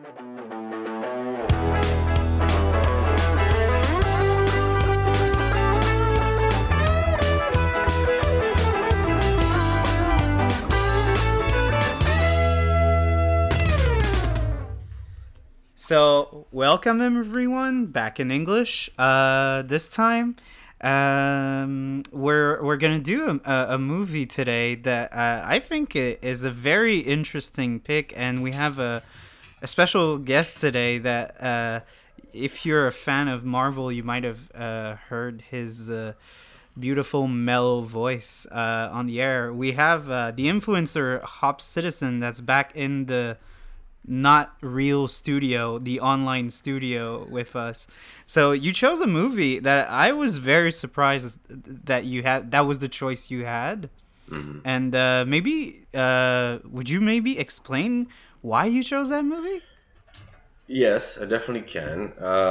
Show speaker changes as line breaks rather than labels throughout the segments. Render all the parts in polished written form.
So, welcome everyone back in English. This time, we're gonna do a movie today that I think is a very interesting pick, and we have a special guest today that if you're a fan of Marvel, you might have heard his beautiful mellow voice on the air. We have the influencer Hop Citizen that's back in the not real studio, the online studio with us. So you chose a movie that I was very surprised that you had. That was the choice you had.
Mm-hmm.
And maybe would you maybe explain why you chose that movie?
Yes, I definitely can.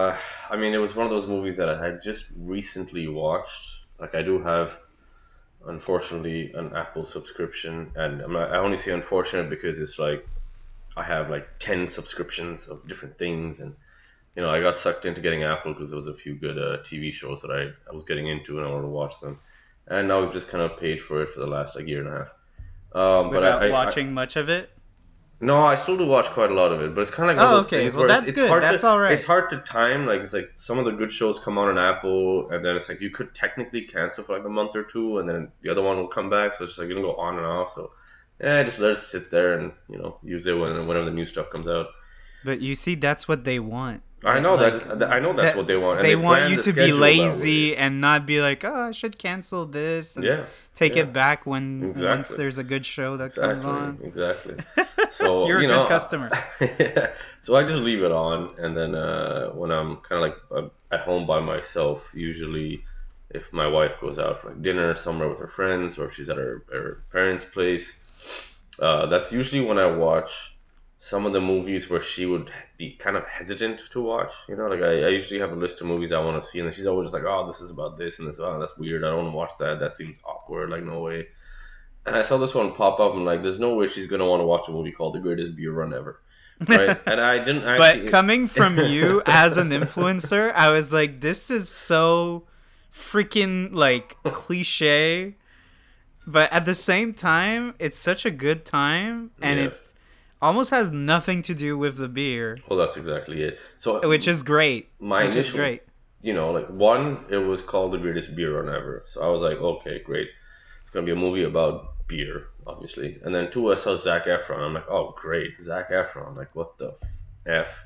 I mean, it was one of those movies that I had just recently watched. Like, I do have, unfortunately, an Apple subscription, and I only say unfortunate because it's like I have like 10 subscriptions of different things, and I got sucked into getting Apple because there was a few good TV shows that I was getting into and I wanted to watch them, and now we've just kind of paid for it for the last like year and a half. But
Without watching much of it?
No, I still do watch quite a lot of it, but it's kind of like one
Oh,
of those
okay.
things
Well,
where
that's
it's
good.
hard
That's
to
all right.
it's hard to time. Like, it's like some of the good shows come on Apple, and then it's like you could technically cancel for like a month or two, and then the other one will come back. So it's just like you can go on and off. So yeah, just let it sit there and use it whenever the new stuff comes out.
But you see, that's what they want.
I know I know that's what they want, and
They
they
want
plan
you
the
to be
schedule that way.
lazy and not be like, oh, I should cancel this and
Yeah,
take
yeah,
it back when once
exactly.
there's a good show that comes on.
Exactly. So
You're a good customer.
yeah. So I just leave it on, and then when I'm kind of like at home by myself, usually if my wife goes out for like dinner somewhere with her friends, or if she's at her parents' place, that's usually when I watch some of the movies where she would be kind of hesitant to watch. Like I usually have a list of movies I want to see, and then she's always just like, "Oh, this is about this and this. Oh, that's weird. I don't want to watch that. That seems awkward. Like, no way." And I saw this one pop up, and like, there's no way she's gonna want to watch a movie called The Greatest Beer Run Ever, right? And I didn't
But
actually.
coming from you as an influencer, I was like, this is so freaking like cliche. But at the same time, it's such a good time, and
Yeah.
it's almost has nothing to do with the beer,
Well, that's exactly it. So
which is great.
my
Which is
initial,
great.
like one, it was called The Greatest Beer Run Ever. So I was like, okay, great. It's gonna be a movie about beer, obviously. And then two, I saw Zac Efron. I'm like, oh, great, Zac Efron. Like, what the f?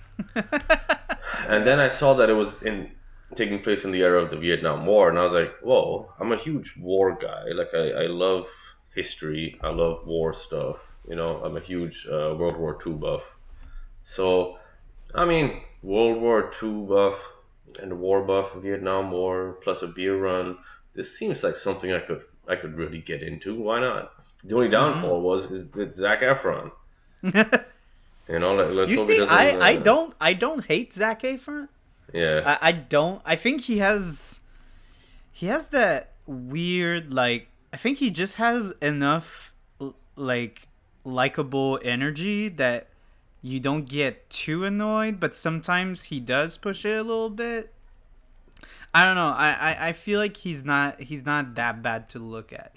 And then I saw that it was taking place in the era of the Vietnam War, and I was like, whoa, I'm a huge war guy. Like, I love history. I love war stuff. I'm a huge World War II buff. So, I mean, World War II buff and a war buff, Vietnam War, plus a beer run. This seems like something I could really get into. Why not? The only downfall is it's Zac Efron. Let's
You
hope he
see,
doesn't.
I don't hate Zac Efron.
Yeah.
I don't. I think he has that weird, like, I think he just has enough like likable energy that you don't get too annoyed, but sometimes he does push it a little bit. I don't know. I feel like he's not that bad to look at.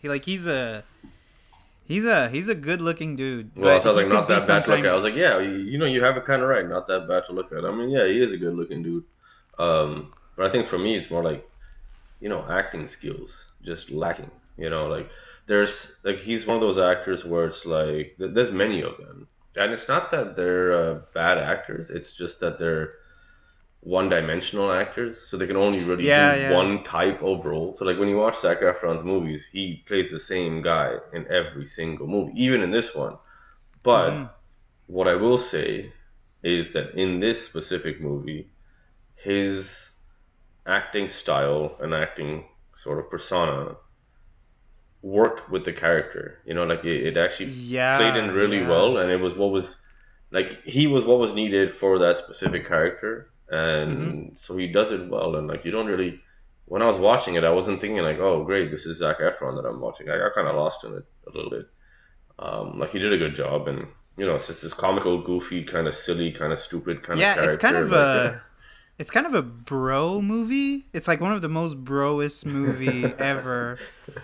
He's a good looking dude.
Well,
But
so I was
he
like,
could
not
be
that bad to look at. I
sometimes.
was like, yeah, you have it kind of right. Not that bad to look at. I mean, yeah, he is a good looking dude. But I think for me, it's more like, acting skills just lacking. Like there's like he's one of those actors where it's like there's many of them, and it's not that they're bad actors. It's just that they're one-dimensional actors, so they can only really do
Yeah, yeah.
one type of role. So like when you watch Zac Efron's movies, he plays the same guy in every single movie, even in this one.
Hmm.
But what I will say is that in this specific movie, his acting style and acting sort of persona worked with the character. Like it actually played in
Yeah,
really
yeah.
well, and it was what was like he was what was needed for that specific character,
Hmm.
and so he does it well. And like you don't really, when I was watching it, I wasn't thinking like, oh, great, this is Zac Efron that I'm watching. I got kind of lost in it a little bit. Like he did a good job, and you know, it's just this comical, goofy, kind of silly, kind of stupid kind of
Yeah,
character. Like,
it's kind of a bro movie. It's like one of the most broest movie ever.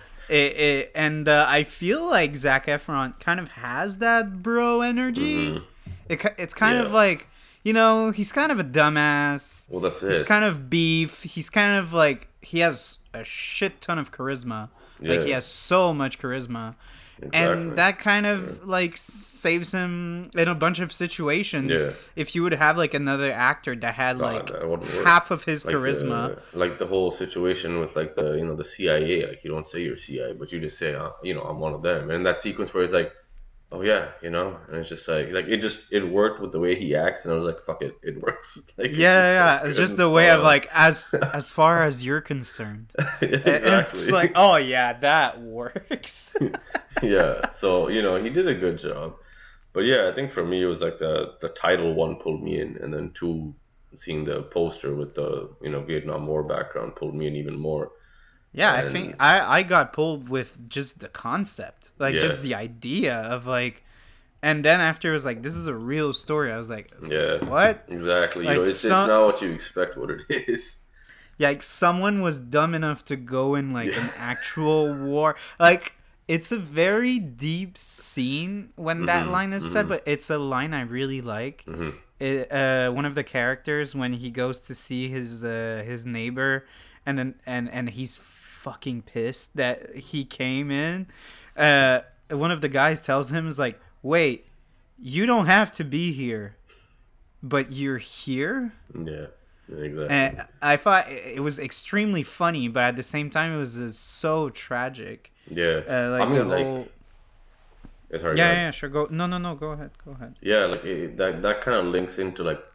And I feel like Zac Efron kind of has that bro energy.
hmm
It's kind of
yeah.
like, you know, he's kind of a dumbass.
Well, that's
He's
it.
kind of beef. He's kind of like, he has a shit ton of charisma. Like, he
Yeah,
has so much charisma. And
exactly.
that kind
Yeah.
of like saves him in a bunch of situations.
Yeah.
If you would have like another actor that had
God,
like
that wouldn't work.
half of his charisma.
Like the whole situation with like the the CIA. Like you don't say you're CIA, but you just say I'm one of them. And that sequence where it's like, oh yeah, and it's just like it worked with the way he acts, and I was like, fuck it, it works. Like
Yeah,
it's just so
yeah, yeah. It's
good
just
and
the way
spot
of
on.
like as far as you're concerned.
Yeah,
It's like,
exactly.
oh yeah, that works.
Yeah. So he did a good job. But yeah, I think for me it was like the title one pulled me in, and then two, seeing the poster with the Vietnam War background pulled me in even more.
Yeah, I think
And
I got pulled with just the concept, like
yeah,
just the idea of like, and then after it was like, this is a real story. I was like,
yeah,
what?
exactly.
Like
It's not what you expect what it is.
yeah, like someone was dumb enough to go in like
Yeah.
an actual war. Like it's a very deep scene when that
Mhm.
line is said,
Mhm.
but it's a line I really like.
Mhm.
One of the characters when he goes to see his neighbor, and then and he's fucking pissed that he came in. One of the guys tells him is like, "Wait, you don't have to be here, but you're here."
Yeah. Exactly.
And I thought it was extremely funny, but at the same time, it was so tragic.
Yeah. I
Like the
mean, like,
whole.
sorry, go
Yeah,
ahead.
yeah, sure. Go. No, no, no. Go ahead. Go ahead.
Yeah, like that kind of links into like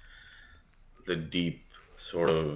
the deep sort of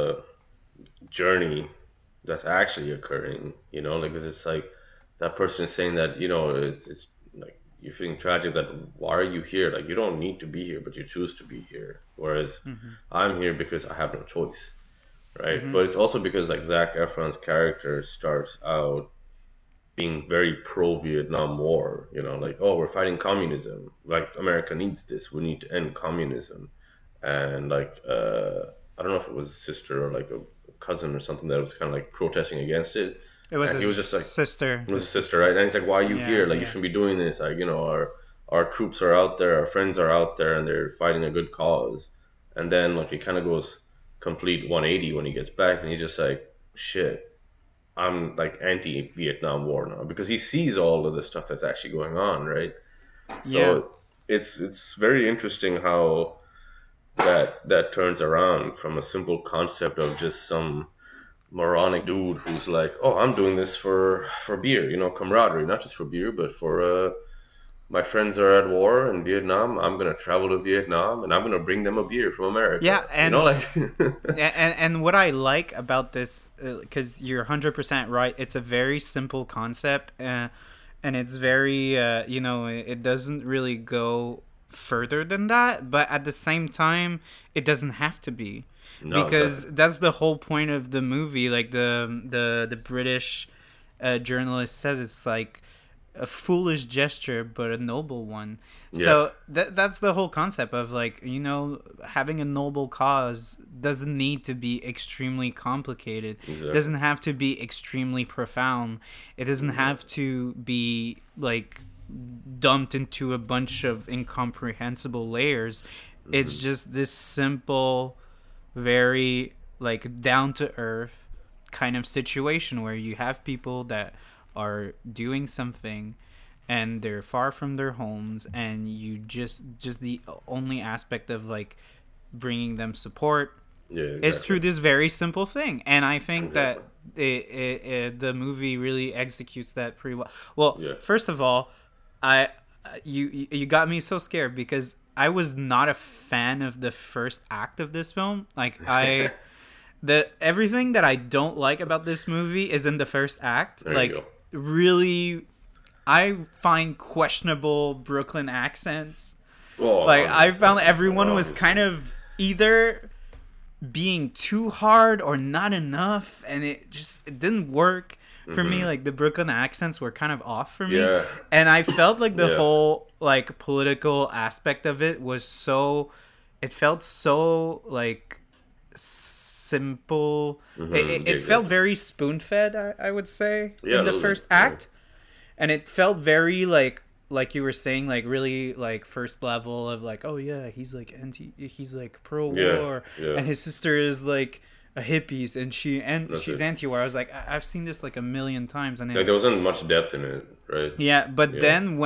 journey that's actually occurring, like 'cause it's like that person is saying that it's like you're feeling tragic that why are you here, like you don't need to be here but you choose to be here, whereas
Mhm.
I'm here because I have no choice, right?
Mhm.
But it's also because like Zac Efron's character starts out being very pro Vietnam War, like, oh, we're fighting communism, like America needs this, we need to end communism. And like I don't know if it was a sister or like a cousin or something that was kind of like protesting against it,
It was
and he was
his
just like,
sister.
it was a sister, right? And he's like, why are you
Yeah,
here? Like, you
yeah.
shouldn't be doing this. Like, our troops are out there, our friends are out there, and they're fighting a good cause. And then like he kind of goes complete 180 when he gets back, and he's just like, shit, I'm like anti-Vietnam War now because he sees all of the stuff that's actually going on, right?
Yeah.
So it's very interesting how that turns around from a simple concept of just some moronic dude who's like, oh, I'm doing this for beer, camaraderie, not just for beer, but for my friends are at war in Vietnam. I'm gonna travel to Vietnam and I'm gonna bring them a beer from
Yeah,
America.
and
Like,
and what I like about this, because you're 100% right, it's a very simple concept, and it's very, it doesn't really go further than that, but at the same time, it doesn't have to be,
no,
because
exactly.
that's the whole point of the movie. Like the British journalist says, it's like a foolish gesture but a noble one.
Yeah,
So that's the whole concept of like, having a noble cause doesn't need to be extremely complicated,
exactly.
doesn't have to be extremely profound, it doesn't
Yeah.
have to be like dumped into a bunch of incomprehensible layers. It's
hmm
just this simple, very like down to earth kind of situation where you have people that are doing something and they're far from their homes, and you just the only aspect of like bringing them support
Yeah,
is
exactly.
through this very simple thing. And I think
Exactly.
that the movie really executes that pretty well. Well,
Yeah.
first of all, I you got me so scared because I was not a fan of the first act of this film. Like the everything that I don't like about this movie is in the first act.
There you go.
Like really, I find questionable Brooklyn accents.
Oh,
Like I
100%.
found everyone was kind
Obviously.
of either being too hard or not enough, and it didn't work. for me,
Mm-hmm.
like the Brooklyn accents were kind of off for me,
Yeah.
and I felt like the
Yeah.
whole like political aspect of it was so. It felt so like simple.
Mm-hmm. Yeah,
It felt
exactly.
very spoon fed. I would say
Yeah,
in
a
the
little bit.
first
Yeah.
act, and it felt very like you were saying, like really like first level of like, oh yeah, he's like he's like pro
Yeah.
war,
Yeah.
and his sister is like a hippies, and
That's
she's
it.
anti war. I was like, I've seen this like a million times, and
Like
then
there wasn't much depth in it, right?
yeah, but
Yeah.
then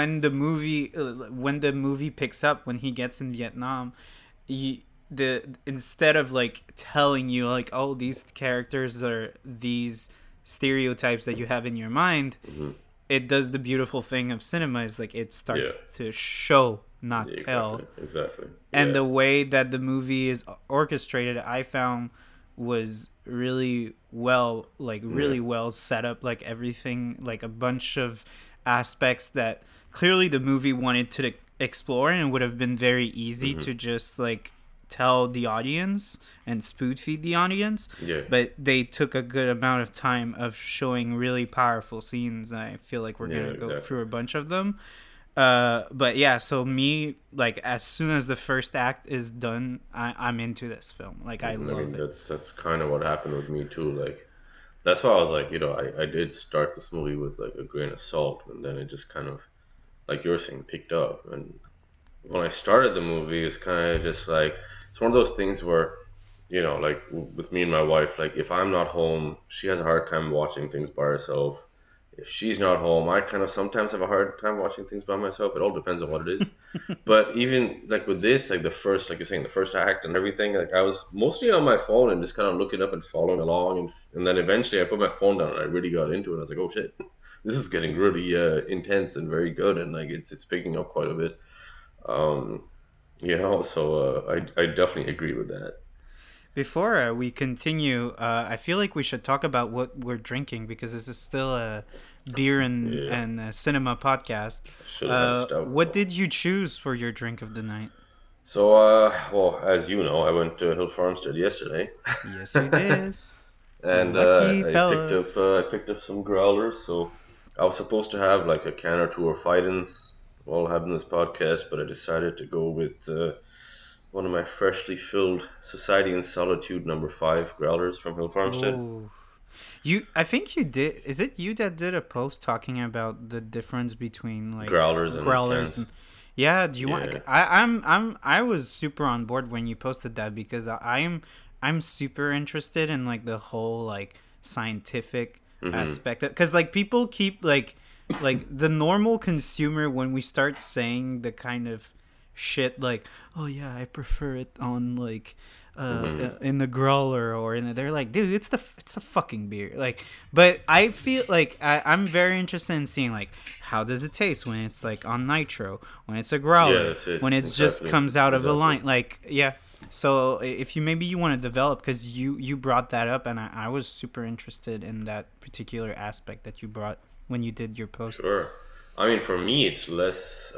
when the movie picks up when he gets in Vietnam, you, the instead of like telling you like, oh, these characters are these stereotypes that you have in your mind,
Mm-hmm.
it does the beautiful thing of cinema is like it
Yeah.
starts to show,
Yeah.
not
Exactly.
tell.
Exactly.
And
Yeah.
the way that the movie is orchestrated, I found was really well, like
Yeah.
really well set up, like everything, like a bunch of aspects that clearly the movie wanted to explore, and it would have been very easy
Mm-hmm.
to just like tell the audience and spoon feed the audience,
Yeah.
but they took a good amount of time of showing really powerful scenes. I feel like we're
Yeah.
gonna go
Exactly.
through a bunch of them. But yeah, so me, like as soon as the first act is done, I'm into this film. Like I
I
love
mean,
it.
that's kind of what happened with me too. Like that's why I was like, I did start this movie with like a grain of salt, and then it just kind of, like you were saying, picked up. And when I started the movie, it's kind of just like it's one of those things where, like with me and my wife, like if I'm not home, she has a hard time watching things by herself. If she's not home, I kind of sometimes have a hard time watching things by myself. It all depends on what it is. But even like with this, like the first, like you're saying, the first act and everything, like I was mostly on my phone and just kind of looking up and following along, and then eventually I put my phone down and I really got into it. I was like, oh shit, this is getting really intense and very good, and like it's picking up quite a bit. Um, so I definitely agree with that.
Before we continue, I feel like we should talk about what we're drinking because this is still a beer
Yeah,
and a cinema podcast.
I should have had a stout
What
though.
did you choose for your drink of the night?
So, well, as you know, I went to Hill Farmstead yesterday,
Yes, you did.
and
Lucky fella.
I picked up some growlers. So I was supposed to have like a can or two of Fidens while having this podcast, but I decided to go with one of my freshly filled Society in Solitude number 5 growlers from Hill Farmstead.
Oh, I think you did. Is it you that did a post talking about the difference between like
Growlers and
growlers
cans.
and yeah? Do you want?
Yeah.
I was super on board when you posted that because I'm super interested in like the whole like scientific
Mm-hmm.
aspect because like people keep like the normal consumer when we start saying the kind of shit like, oh yeah, I prefer it on like
Mm-hmm.
in the growler or in the, they're like, dude, it's a fucking beer. Like, but I feel like I'm very interested in seeing like how does it taste when it's like on nitro, when it's a
Yeah,
growler,
that's it.
when it's just
Exactly.
comes out of a
Exactly.
line. Like, yeah. So if you maybe you want to develop because you brought that up and I was super interested in that particular aspect that you brought when you did your post.
Sure. I mean, for me, it's less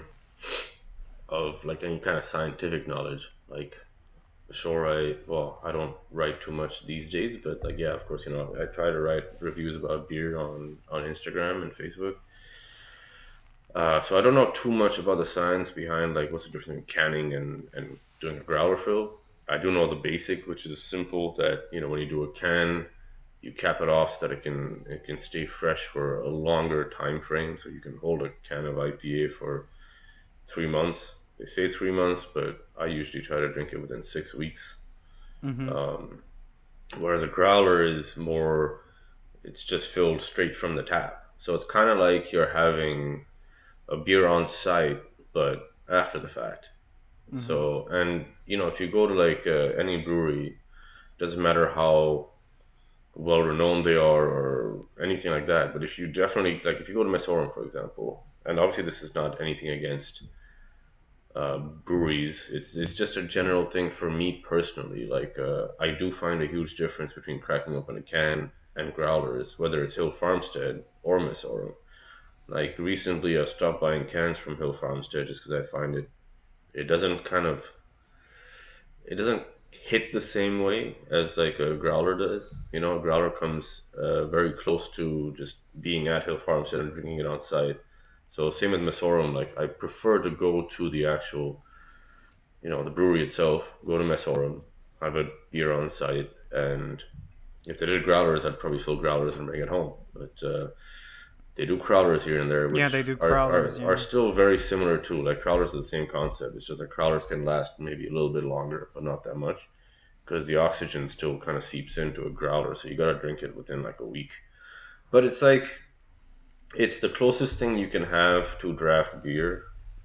of like any kind of scientific knowledge. Like, sure, I don't write too much these days, but like, yeah, of course, I try to write reviews about beer on Instagram and Facebook. So I don't know too much about the science behind like what's the difference between canning and doing a growler fill. I do know the basic, which is simple that when you do a can, you cap it off so that it can stay fresh for a longer time frame. So you can hold a can of IPA for 3 months. They say 3 months, but I usually try to drink it within 6 weeks.
Mm-hmm.
Um, Whereas a growler is more, it's just filled straight from the tap. So it's kind of like you're having a beer on site, but after the fact.
Mm-hmm.
So, and if you go to like any brewery, doesn't matter how well renowned they are or anything like that. But if you definitely like, if you go to Mesorum, for example, and obviously this is not anything against breweries. It's just a general thing for me personally. Like I do find a huge difference between cracking open a can and growlers, whether it's Hill Farmstead or Mesorum. Like recently, I stopped buying cans from Hill Farmstead just because I find it doesn't kind of it doesn't hit the same way as like a growler does. You know, a growler comes very close to just being at Hill Farmstead and drinking it on site. So same with Mesorum. Like I prefer to go to the actual, the brewery itself. Go to Mesorum, have a beer on site, and if they did growlers, I'd probably fill growlers and bring it home. But they do crowlers here and there,
Yeah,
which
they do
are,
crawlers.
are, are
Yeah.
still very similar too. Like crowlers are the same concept. It's just that crowlers can last maybe a little bit longer, but not that much because the oxygen still kind of seeps into a growler. So you gotta drink it within like a week. But it's like it's the closest thing you can have to draft beer,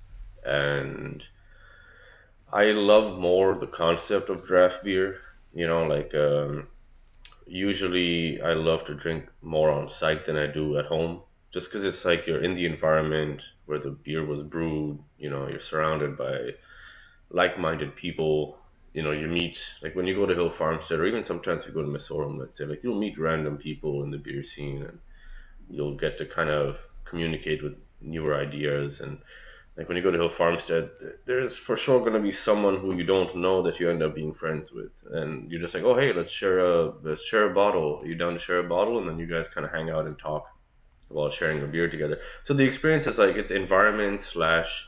and I love more the concept of draft beer. Like usually I love to drink more on site than I do at home. Just because it's like you're in the environment where the beer was brewed, you're surrounded by like-minded people. You meet like when you go to Hill Farmstead, or even sometimes if you go to Mesorum, let's say, like you'll meet random people in the beer scene, and you'll get to kind of communicate with newer ideas. And like when you go to Hill Farmstead, there's for sure going to be someone who you don't know that you end up being friends with, and you're just like, oh hey, let's share a bottle. Are you down to share a bottle? And then you guys kind of hang out and talk while sharing a beer together. So the experience is like it's environment slash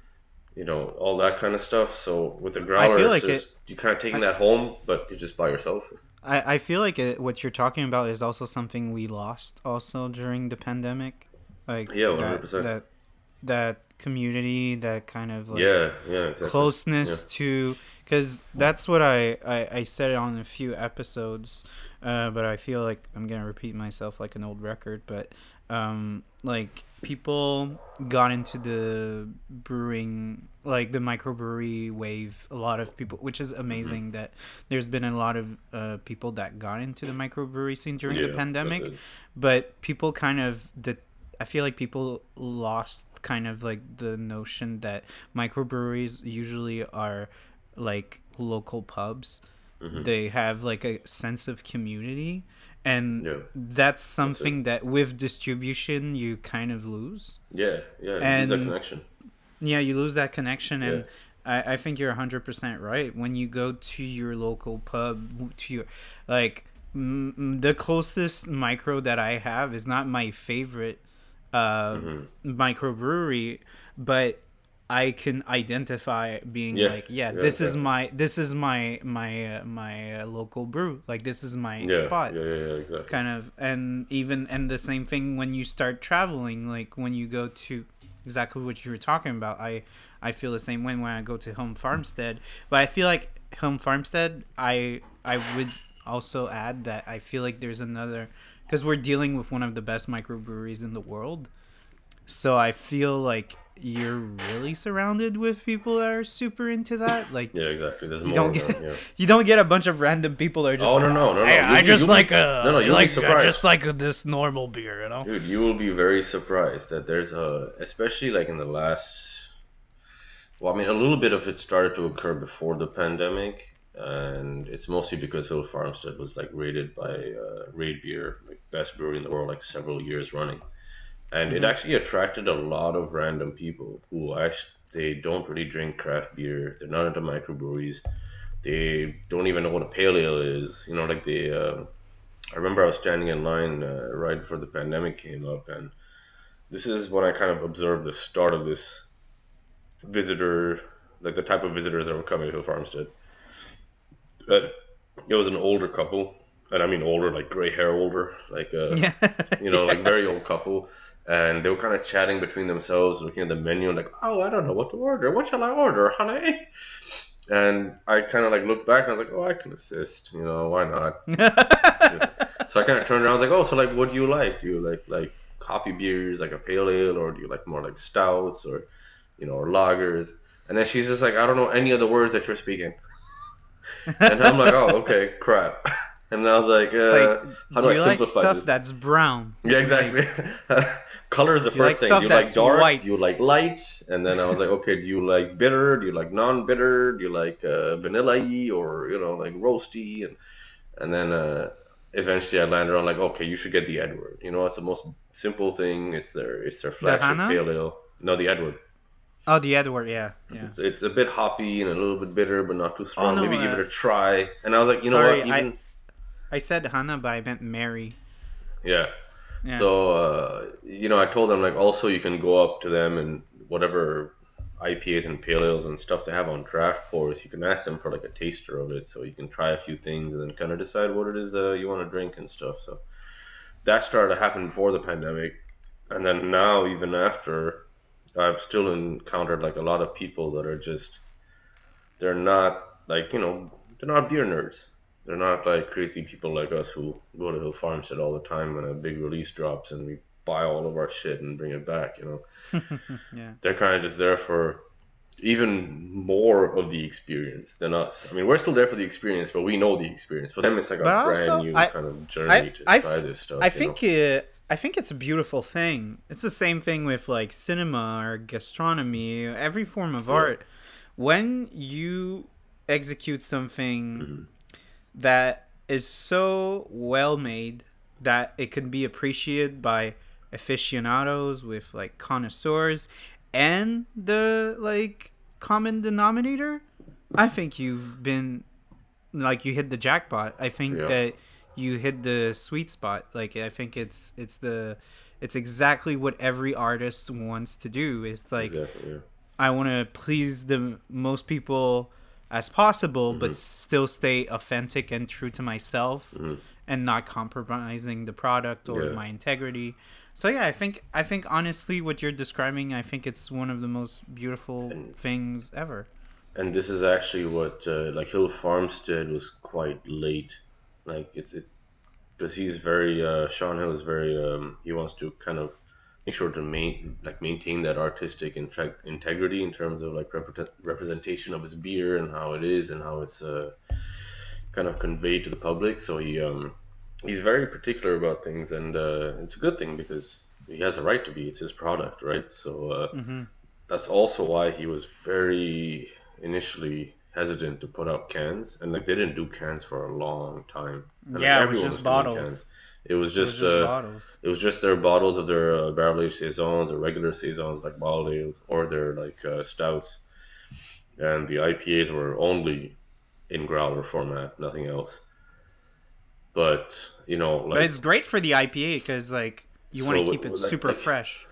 all that kind of stuff. So with the
I
growler,
feel
it's
like it.
just you kind of taking
I,
that home, but you're just by yourself.
I feel like what you're talking about is also something we lost also during the pandemic, like
Yeah, 100%.
that community, that kind of like
Yeah, yeah, exactly. Yeah.
closeness to, because that's what I said on a few episodes, but I feel like I'm gonna repeat myself like an old record. But like people got into the brewing, like the microbrewery wave, a lot of people, which is
Hmm.
amazing that there's been a lot of people that got into the microbrewery scene during the
Yeah, that's
pandemic.
it.
But people kind of I feel like people lost kind of like the notion that microbreweries usually are like local pubs.
Hmm.
They have like a sense of community, and
Yeah,
that's
that's it.
something that with distribution you kind of lose.
Yeah, yeah, you lose that
And
connection.
yeah, you lose that connection.
Yeah.
And I think you're 100% right. When you go to your local pub, to your like the closest micro that I have is not my favorite uh,
Hmm.
microbrewery, but I can identify being
Yeah,
like, yeah,
yeah, exactly.
this is my local brew. Like this is my
Yeah,
spot,
yeah, yeah, yeah, exactly.
kind of. And even and the same thing when you start traveling, like when you go to exactly what you were talking about. I feel the same way when I go to Home Farmstead, but I feel like Home Farmstead. I would also add that I feel like there's another, because we're dealing with one of the best microbreweries in the world. So I feel like you're really surrounded with people that are super into that. Like
Yeah, exactly. There's
you
more
don't
of
get
them. Yeah.
you don't get a bunch of random people that are just
Oh
like,
no, no, no,
hey,
no.
I just
No, no. You'll be
I
surprised,
just like this normal beer, you know.
dude. You will be very surprised that there's especially like in the last. Well, I mean, a little bit of it started to occur before the pandemic, and it's mostly because Hill Farmstead was like rated by Raid Beer, like best brewery in the world, like several years running. And it
Mm-hmm.
actually attracted a lot of random people who actually they don't really drink craft beer. They're not into microbreweries. They don't even know what a pale ale is. Like they. I remember I was standing in line right before the pandemic came up, and this is when I kind of observed the start of this visitor, like the type of visitors that were coming to Hill Farmstead. But it was an older couple, and I mean older, like gray hair older, like
Yeah,
like
yeah.
very old couple, and they were kind of chatting between themselves, looking at the menu, and like, oh, I don't know what to order. What shall I order, honey? And I kind of like looked back and I was like, oh, I can assist. Why not? So I kind of turned around. I was like, oh, so like, what do you like? Do you like coffee beers, like a pale ale, or do you like more like stouts, or or lagers? And then she's just like, I don't know any of the words that you're speaking. And I'm like, oh, okay, crap. And I was like,
It's like,
how
do
do I
you like
simplify
stuff
this?
that's brown?
Yeah,
Like,
exactly. Color is the
do you like
first thing. Do
stuff
you like
that's
dark?
white?
Do you like light? And then I was like, okay, do you like bitter? Do you like non-bitter? Do you like vanilla-y or like roasty? And then eventually I landed on like, okay, you should get the Edward. It's the most simple thing. It's their
The
flagship
Hana?
pale ale. No, the Edward.
Oh, the Edward, yeah, yeah.
It's a bit hoppy and a little bit bitter, but not too
Oh
strong.
no,
Maybe give it a try. And I was like, you know what?
sorry,
Even
I said Hannah, but I meant Mary.
yeah.
Yeah.
So I told them like also you can go up to them and whatever IPAs and pale ales and stuff they have on draft pours, you can ask them for like a taster of it, so you can try a few things and then kind of decide what it is you want to drink and stuff. So that started to happen before the pandemic, and then now even after, I've still encountered like a lot of people that are just they're not like they're not beer nerds. They're not like crazy people like us who go to Hill Farmstead all the time when a big release drops and we buy all of our shit and bring it back.
Yeah.
They're kind of just there for even more of the experience than us. I mean, we're still there for the experience, but we know the experience. For them, it's like a
But
brand
also,
new kind of
I,
journey to
I,
try
f-
this stuff.
I think I think it's a beautiful thing. It's the same thing with like cinema or gastronomy, every form of
Yeah.
art. When you execute something
Mm-hmm.
that is so well made that it can be appreciated by aficionados with like connoisseurs and the like common denominator, I think you've been like you hit the jackpot. I think
Yeah,
that you hit the sweet spot. Like I think it's exactly what every artist wants to do. It's like
exactly. Yeah.
I want to please the most people as possible,
Mm-hmm.
but still stay authentic and true to myself,
Mm-hmm.
and not compromising the product or
Yeah.
my integrity. So yeah, I think honestly, what you're describing, I think it's one of the most beautiful
And
things ever.
and this is actually what like Hill Farmstead was quite late. Like it because he's very Sean Hill is very he wants to kind of make sure to maintain that artistic integrity in terms of like representation of his beer and how it is and how it's kind of conveyed to the public. So he's very particular about things, and it's a good thing because he has a right to be. It's his product, right? So
Hmm.
that's also why he was very initially hesitant to put out cans, and like they didn't do cans for a long time, and like
Yeah, it was
everyone was
just
doing cans.
bottles.
It was
It was
just
just bottles.
their bottles of their barrel aged saisons or regular saisons like bottled ales or their like stouts, and the IPAs were only in growler format, nothing else. But
But
like
it's great for the IPA because like you want
so
to keep it super
like
fresh.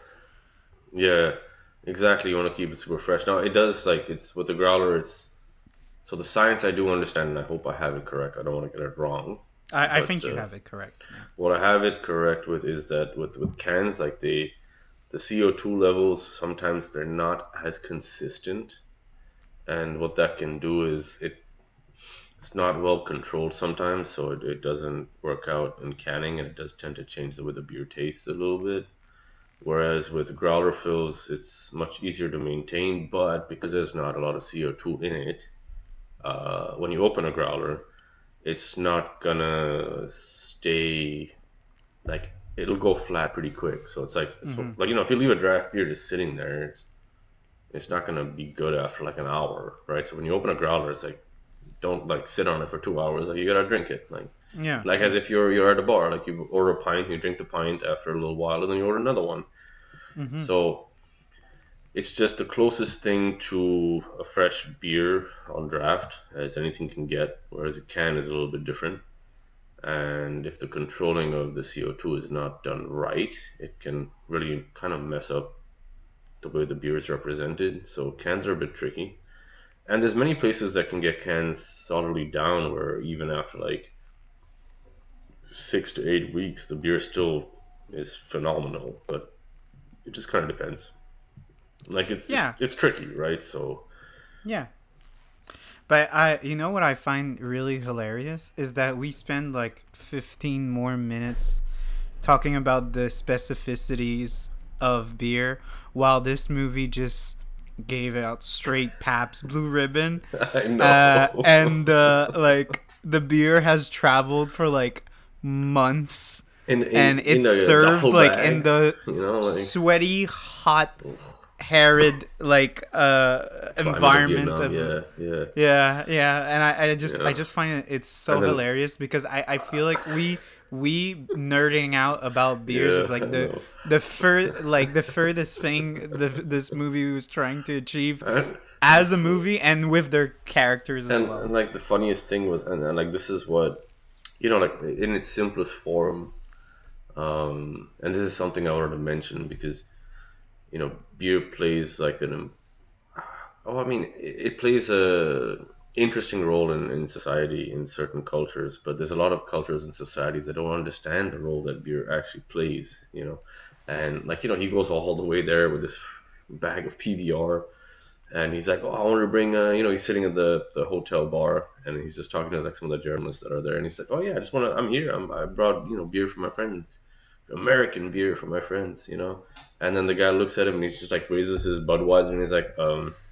yeah, exactly. You want to keep it super fresh. Now it does like it's with the growler. It's so the science I do understand, and I hope I have it correct. I don't want to get it wrong,
I
but
think you have it correct. Yeah.
what I have it correct with is that with cans, like the CO2 levels sometimes they're not as consistent, and what that can do is it's not well controlled sometimes, so it doesn't work out in canning, and it does tend to change the way the beer tastes a little bit. Whereas with growler fills, it's much easier to maintain, but because there's not a lot of CO2 in it, when you open a growler, it's not gonna stay like it'll go flat pretty quick. So it's like
Hmm.
if you leave a draft beer just sitting there, it's not gonna be good after like an hour, right? So when you open a growler, it's like don't like sit on it for 2 hours. Like you gotta drink it,
Yeah.
like as
Yeah.
if you're at a bar. Like you order a pint, you drink the pint after a little while, and then you order another one.
Hmm.
So it's just the closest thing to a fresh beer on draft as anything can get, whereas a can is a little bit different. And if the controlling of the CO2 is not done right, it can really kind of mess up the way the beer is represented. So cans are a bit tricky. And there's many places that can get cans solidly down where even after like 6 to 8 weeks, the beer still is phenomenal. But it just kind of depends. Like
Yeah.
it's tricky, right? So
Yeah. But you know what I find really hilarious is that we spend like 15 more minutes talking about the specificities of beer while this movie just gave out straight Pabst Blue Ribbon.
I know.
And like the beer has traveled for like months and
In
it's
a
served
duffel
like in
bag,
the
like
sweaty, hot,
ugh,
arid like
climate of
environment
Vietnam.
of
Yeah, yeah,
yeah, yeah, and I just
yeah.
find it's so
And then
hilarious because I feel like we nerding out about beers
Yeah,
is like
I know.
the furthest thing this movie was trying to achieve
And,
as a movie and with their characters as
and
well.
like the funniest thing was, and like this is what, like in its simplest form, and this is something I wanted to mention because, beer plays like I mean, it plays a interesting role in society in certain cultures, but there's a lot of cultures and societies that don't understand the role that beer actually plays. And like, he goes all the way there with this bag of PBR, and he's like, "Oh, I want to bring," he's sitting at the hotel bar, and he's just talking to like some of the journalists that are there, and he's like, "Oh yeah, I'm here. I brought beer for my friends, American beer for my friends." And then the guy looks at him and he's just like raises his Budweiser and he's like,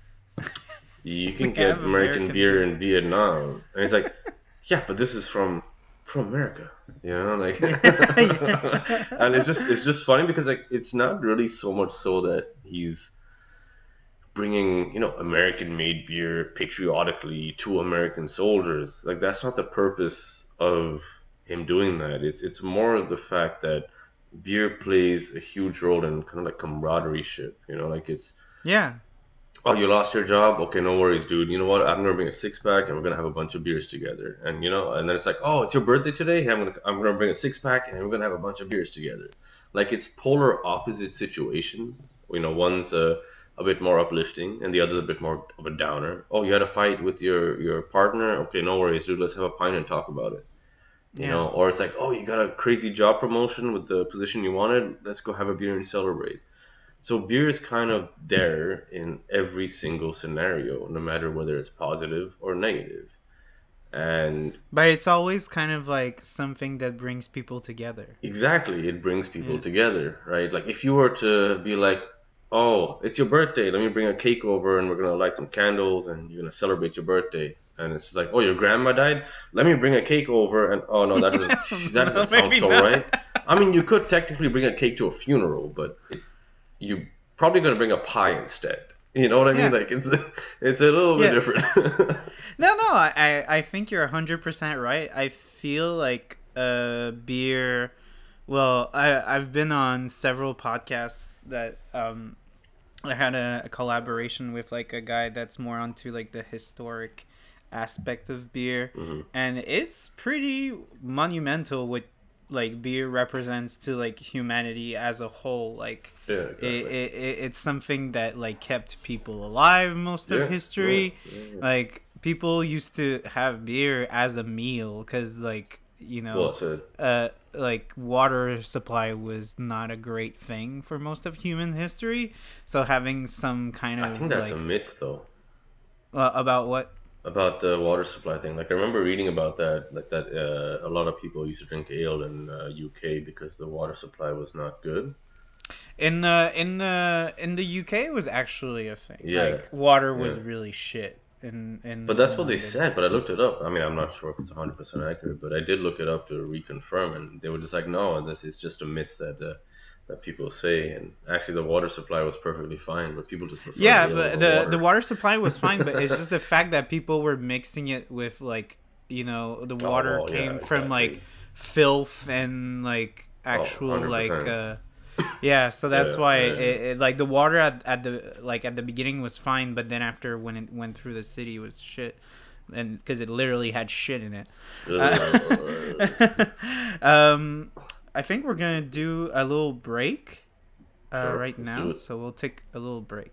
you
We
can get
have
American
American
beer
beer.
in Vietnam. And he's like, yeah, but this is from America, like,
Yeah.
and it's just funny because like it's not really so much so that he's bringing American made beer patriotically to American soldiers. Like that's not the purpose of him doing that. It's more of the fact that beer plays a huge role in kind of like camaraderie ship. Like it's,
Yeah.
oh, you lost your job? Okay, no worries, dude. You know what? I'm gonna bring a six pack and we're gonna have a bunch of beers together. And then it's like, oh, it's your birthday today? Hey, I'm gonna bring a six pack and we're gonna have a bunch of beers together. Like it's polar opposite situations. One's a bit more uplifting and the other's a bit more of a downer. Oh, you had a fight with your partner? Okay, no worries, dude. Let's have a pint and talk about it.
Yeah.
Or it's like, oh, you got a crazy job promotion with the position you wanted. Let's go have a beer and celebrate. So beer is kind of there in every single scenario, no matter whether it's positive or negative. And
But it's always kind of like something that brings people together.
exactly, it brings people
Yeah.
together, right? Like if you were to be like, "Oh, it's your birthday. Let me bring a cake over and we're gonna light some candles and you're gonna celebrate your birthday." And it's like, "Oh, your grandma died. Let me bring a cake over." And oh no, that doesn't that
No,
doesn't sound
maybe
so
not.
right. I mean, you could technically bring a cake to a funeral, but you probably gonna bring a pie instead. You know what I mean?
Yeah.
Like it's a little bit
Yeah.
different.
No, I think you're 100% right. I feel like beer. Well, I've been on several podcasts that I had a collaboration with like a guy that's more onto like the historic aspect of beer,
Hmm.
and it's pretty monumental what like beer represents to like humanity as a whole. Like
Yeah,
it,
exactly.
it's something that like kept people alive most of
Yeah, yeah,
history.
yeah, yeah.
Like people used to have beer as a meal because
Well said.
like water supply was not a great thing for most of human history, so having some kind
I think
of
that's a
like
myth though
about what.
about the water supply thing. Like I remember reading about that, like that a lot of people used to drink ale in UK because the water supply was not good.
In the UK it was actually a thing.
Yeah,
Like water
yeah.
was really shit
But
in
that's what they
London.
said. But I looked it up. I mean, I'm not sure if it's 100% accurate, but I did look it up to reconfirm, and they were just like, no, this is just a myth that people say. And actually, the water supply was perfectly fine, but people just preferred
Yeah,
ale
but
over
the
water.
water supply was fine, but it's just the fact that people were mixing it with like the
Oh
water
well, yeah,
came from like
exactly.
filth and like
Oh,
actual like
100%.
yeah, so that's
Yeah,
why
yeah.
like the water at the beginning was fine, but then after when it went through the city it was shit, and because it literally had shit in it.
Yeah.
I think we're gonna do a little break
Sure,
right
let's do
now,
it.
so we'll take a little break.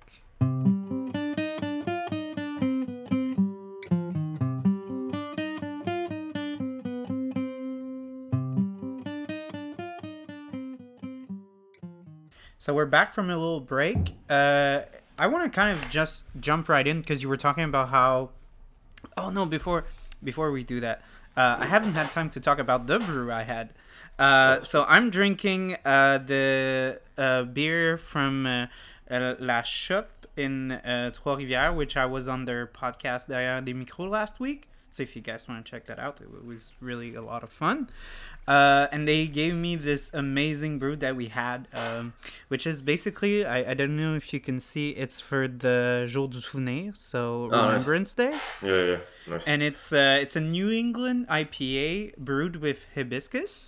So we're back from a little break. I want to kind of just jump right in because you were talking about how. Oh no! Before we do that, I haven't had time to talk about the brew I had.
Oh,
So
sweet.
I'm drinking the beer from La Chope in Trois-Rivières, which I was on their podcast Derrière des Micros last week. So if you guys want to check that out, it was really a lot of fun. And they gave me this amazing brew that we had, which is basically, I don't know if you can see, it's for the Jour du Souvenir, so
Oh, nice.
Remembrance Day.
Yeah, yeah, nice.
And it's a New England IPA brewed with hibiscus,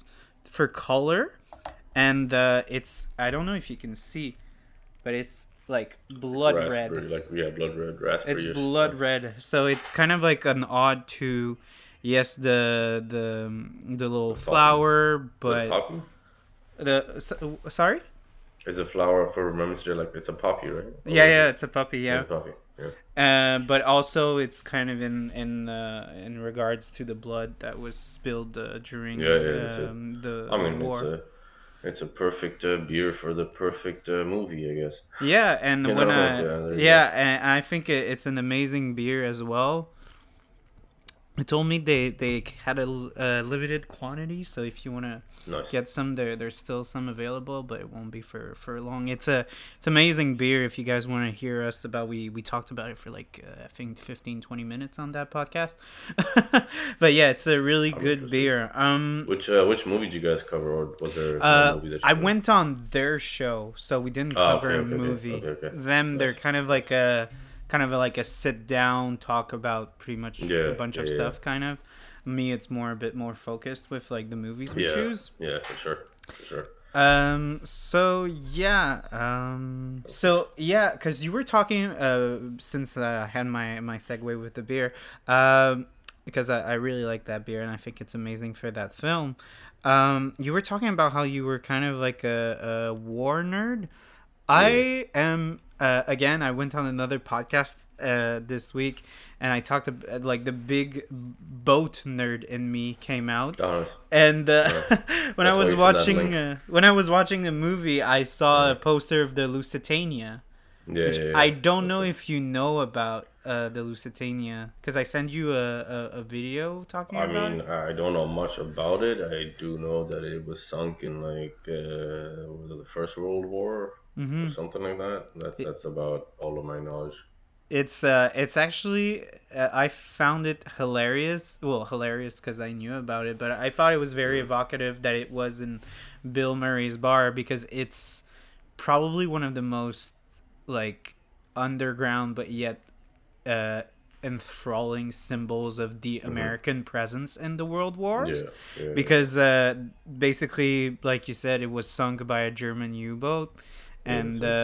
for color, and it's, I don't know if you can see, but it's like blood
Raspberry,
red.
like blood red,
It's
raspberry-ish.
blood
Yes.
red, so it's kind of like an odd to, yes, the little
The poppy.
flower,
Is it a
but
poppy?
sorry.
Is a flower for Remembrance Day like it's a poppy, right?
Yeah,
Or is
yeah,
it?
it's a puppy.
It's
Yeah.
a poppy. Yeah.
But also it's kind of in regards to the blood that was spilled during
Yeah, yeah. It's a.
the
I mean,
war.
it's a perfect beer for the perfect movie, I guess.
Yeah, and
You
when
know, like
I
there you go.
yeah, and I think it's an amazing beer as well. It told me they had a limited quantity, so if you wanna
Nice.
get some, there's still some available, but it won't be for long. It's amazing beer. If you guys want to hear us about, we talked about it for like I think 15-20 minutes on that podcast. But yeah, it's a really
I'm
good
interested.
beer.
Which movie did you guys cover, or was there no movie that you
I
covered?
went on their show, so we didn't
Oh,
cover
okay,
a
okay, okay,
movie.
okay, okay.
Them, they're
Nice.
kind of like a sit down talk about pretty much a
Yeah,
bunch
yeah,
of
yeah,
stuff. Kind of. Me, it's more a bit more focused with like the movies we
yeah,
choose.
yeah, for sure, for sure.
So yeah, because you were talking since I had my segue with the beer, because I really like that beer and I think it's amazing for that film. You were talking about how you were kind of like a war nerd.
Yeah.
I am again. I went on another podcast this week, and I talked about like the big boat nerd in me came out,
Oh, nice.
and
Nice.
when I
That's why
was
you sent that
watching
link.
when I was watching the movie, I saw a
Yeah,
poster of the Lusitania,
yeah,
which
yeah, yeah.
I don't
That's
know
it.
if you know about the Lusitania, because I sent you a video talking
I
about
mean,
it.
I don't know much about it. I do know that it was sunk in like was it the First World War or
Mm-hmm.
something like that. That's about all of my knowledge.
It's actually I found it hilarious. Well, hilarious because I knew about it, but I thought it was very
Mm.
evocative that it was in Bill Murray's bar, because it's probably one of the most like underground but yet uh, enthralling symbols of the
Mm-hmm.
American presence in the World Wars.
Yeah, yeah, yeah.
Because basically, like you said, it was sunk by a German U-boat,
Yeah, that's
and
it.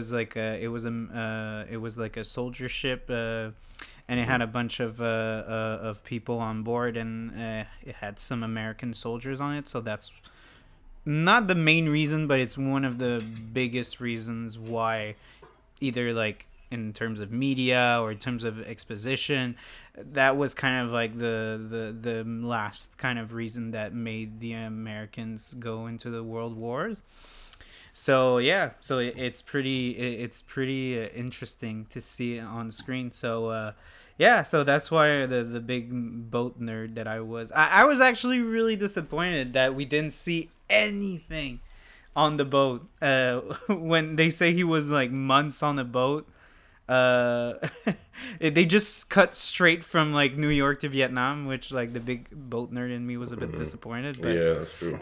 it was like a soldier ship, and it
Mm-hmm.
had a bunch of people on board, and it had some American soldiers on it. So that's not the main reason, but it's one of the biggest reasons why, either like in terms of media or in terms of exposition, that was kind of like the last kind of reason that made the Americans go into the world wars. So yeah, so it's pretty interesting to see it on screen. So yeah, so that's why the big boat nerd that I was actually really disappointed that we didn't see anything on the boat. When they say he was like months on a boat, uh, they just cut straight from like New York to Vietnam, which like the big boat nerd in me was a bit
Mm-hmm.
disappointed, but
Yeah, that's true.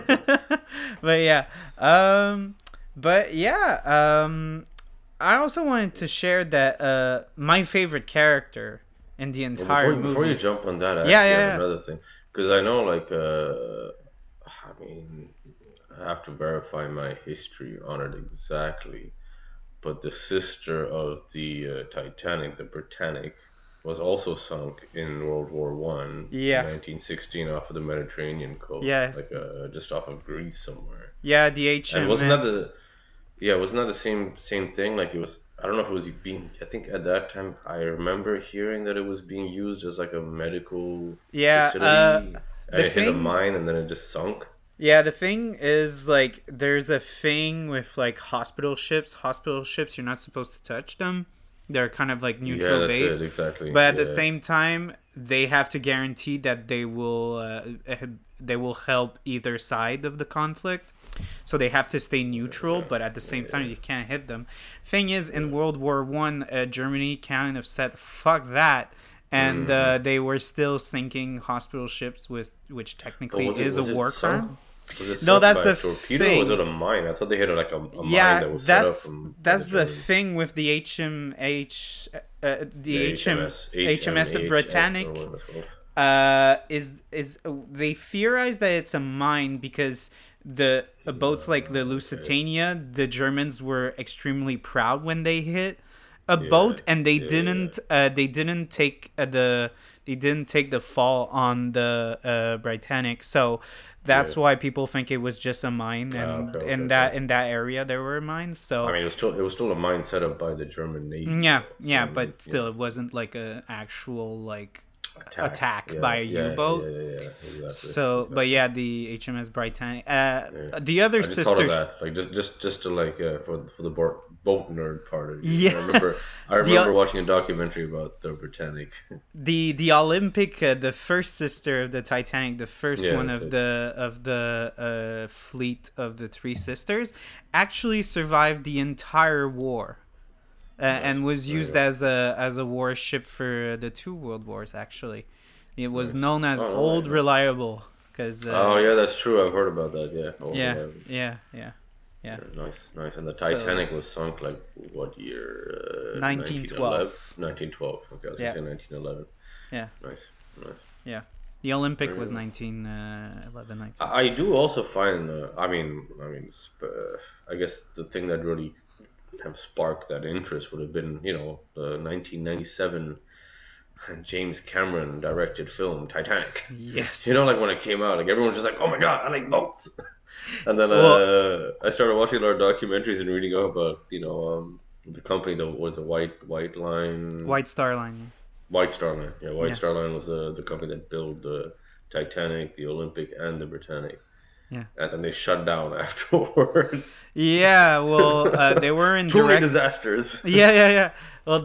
but yeah, um, but yeah, I also wanted to share that my favorite character in the
Well,
entire
before you
movie.
jump on that, I
Yeah,
actually have
yeah,
another thing because I know like I mean, I have to verify my history on it exactly. But the sister of the Titanic, the Britannic, was also sunk in World War One in
yeah,
1916 off of the Mediterranean coast,
yeah,
like just off of Greece somewhere.
yeah. The
And wasn't that
HM.
the yeah, wasn't that the same thing? Like it was. I don't know if it was being. I think at that time I remember hearing that it was being used as like a medical
Yeah.
facility, and
The
it hit a
thing.
mine and then it just sunk.
Yeah, the thing is like there's a thing with like hospital ships. Hospital ships, you're not supposed to touch them. They're kind of like
Yeah,
neutral
that's it
base,
exactly.
but at the
Yeah.
same time, they have to guarantee that they will help either side of the conflict. So they have to stay neutral,
Okay.
but at the same time,
Yeah.
you can't hit them. Thing is, in
Yeah.
World War One, Germany kind of said "fuck that," and
Hmm.
they were still sinking hospital ships, with which
But
technically is a
was it
war
sunk?
crime.
Was it
No,
sunk
that's
by a
the
torpedo or was it
thing.
a mine? I thought they hit like a mine
Yeah,
that was set up from by the
that's the
Germans.
thing with the HMH,
The
the HMS
HMS
Britannic.
or what it's called.
is they theorize that it's a mine because the boats like the
Okay.
Lusitania, the Germans were extremely proud when they hit a
Yeah.
boat, and
Yeah.
they didn't take they didn't take the fall on the Britannic. So
Yeah.
that's why people think it was just a mine,
Okay.
and
Okay. Okay.
in that area there were mines.
I
So
mean, it was still a mine set up by the German Navy,
yeah,
though. So
yeah,
I mean,
but still, it wasn't like a actual like
attack.
attack by
Yeah.
a
Yeah. Yeah.
U-boat.
Yeah. Yeah. Yeah. Exactly.
So, but
Exactly.
yeah, the HMS Britannic.
Yeah.
The other
I just thought of
sister.
that, like just to like for the boat nerd part of you.
Yeah,
I
the
remember watching a documentary about the Britannic.
the Olympic, the first sister of the Titanic, the first
Yeah,
one
that's
of
it.
the fleet of the three sisters, actually survived the entire war.
Nice.
And was
There you
used
go.
as a warship for the two world wars. Actually, it was
Nice.
known as
Oh, no way.
Old
Nice.
Reliable because
Oh yeah, that's true. I've heard about that. Yeah. Oh,
yeah,
reliable.
yeah, yeah, yeah.
Yeah, nice, nice. And the
So
Titanic was sunk like what year? 1911?
1912.
1912. Okay, I was gonna
Yeah,
say 1911.
yeah,
Nice, nice.
yeah. The Olympic
There
was
you go.
1911, I think.
I do also find. I guess the thing that really have sparked that interest would have been, the 1997 James Cameron directed film Titanic. Like
Yes.
when it came out, like everyone was just like, "Oh my god, I like boats." And then
Well,
I started watching a lot of documentaries and reading up about, the company that was a White Line,
White Star Line.
White Star Line. Yeah, White
Yeah,
Star Line was the company that built the Titanic, the Olympic, and the Britannic,
yeah,
and then they shut down afterwards.
yeah. Well, they were in
Too many
direct.
disasters.
Yeah, yeah, yeah. Well,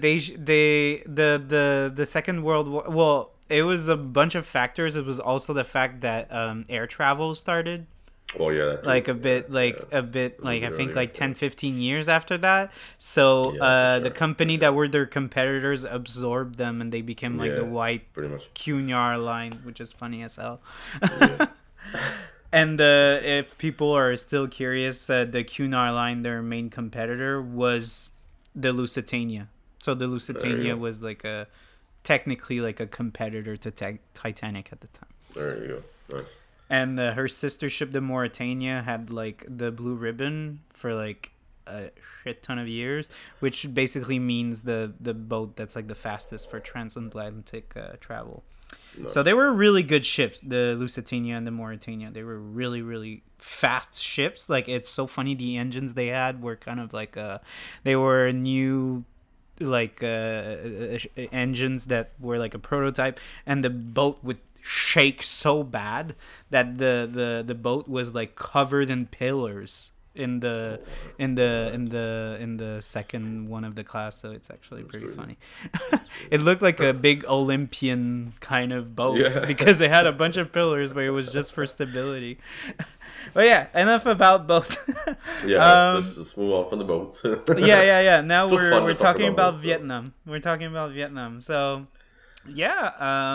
the Second World War. Well, it was a bunch of factors. It was also the fact that air travel started
Oh yeah, that too.
like
Yeah, yeah.
a bit
A little
like I
bit
think
earlier.
like
Yeah,
10-15 years after that. So
yeah, for
the
sure, for
company
sure.
that were their competitors absorbed them, and they became like the
Yeah,
white
pretty much.
Cunard line, which is funny as hell.
Yeah.
And if people are still curious, the Cunard line, their main competitor was the Lusitania. So the
There you
Lusitania
go.
was like a technically like a competitor to Titanic at the time.
There you go. Nice.
And her sister ship, the Mauritania, had like the blue ribbon for like a shit ton of years, which basically means the boat that's like the fastest for transatlantic travel. So
Nice.
they were really good ships, the Lusitania and the Mauritania. They were really, really fast ships. Like it's so funny. The engines they had were kind of like they were new like engines that were like a prototype, and the boat would shake so bad that the boat was like covered in pillars in the
Oh,
in
what?
the second one of the class. So it's actually
That's
pretty
crazy.
funny.
That's
It
crazy.
looked like a big Olympian kind of boat
Yeah.
because it had a bunch of pillars, but it was just for stability. But yeah, enough about boats.
Yeah, let's
um
just move on from the boats.
yeah, yeah, yeah. Now
Still fun
we're
to talk
talking
about
about
boats, though.
Vietnam. We're talking about Vietnam. So yeah,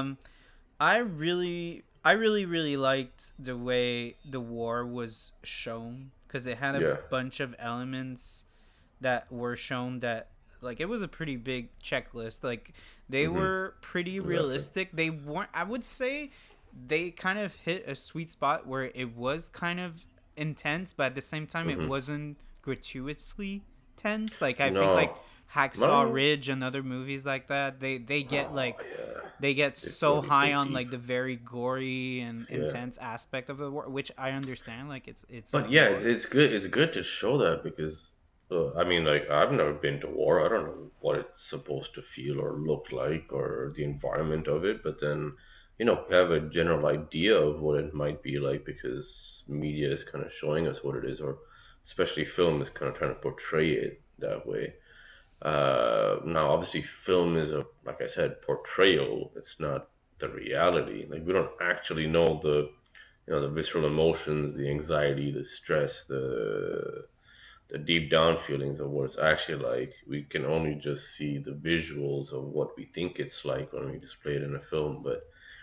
I really liked the way the war was shown because it had a
Yeah.
bunch of elements that were shown that like it was a pretty big checklist. Like they
Mm-hmm.
were pretty
Exactly.
realistic. They weren't. I would say they kind of hit a sweet spot where it was kind of intense, but at the same time it
Mm-hmm.
wasn't gratuitously tense. Like I think like
No.
Hacksaw
No.
Ridge and other movies like that, they get
Oh,
like
yeah.
they get
They
so
really
high
dig
on
deep.
like the very gory and
Yeah.
intense aspect of the war, which I understand. Like it's a
But yeah, it's,
war.
it's good. It's good to show that because, I mean, like I've never been to war. I don't know what it's supposed to feel or look like or the environment of it. But then, we have a general idea of what it might be like because media is kind of showing us what it is, or especially film is kind of trying to portray it that way. Now, obviously, film is like I said, portrayal. It's not the reality. Like we don't actually know the visceral emotions, the anxiety, the stress, the deep down feelings of what it's actually like. We can only just see the visuals of what we think it's like when we display it in a film. But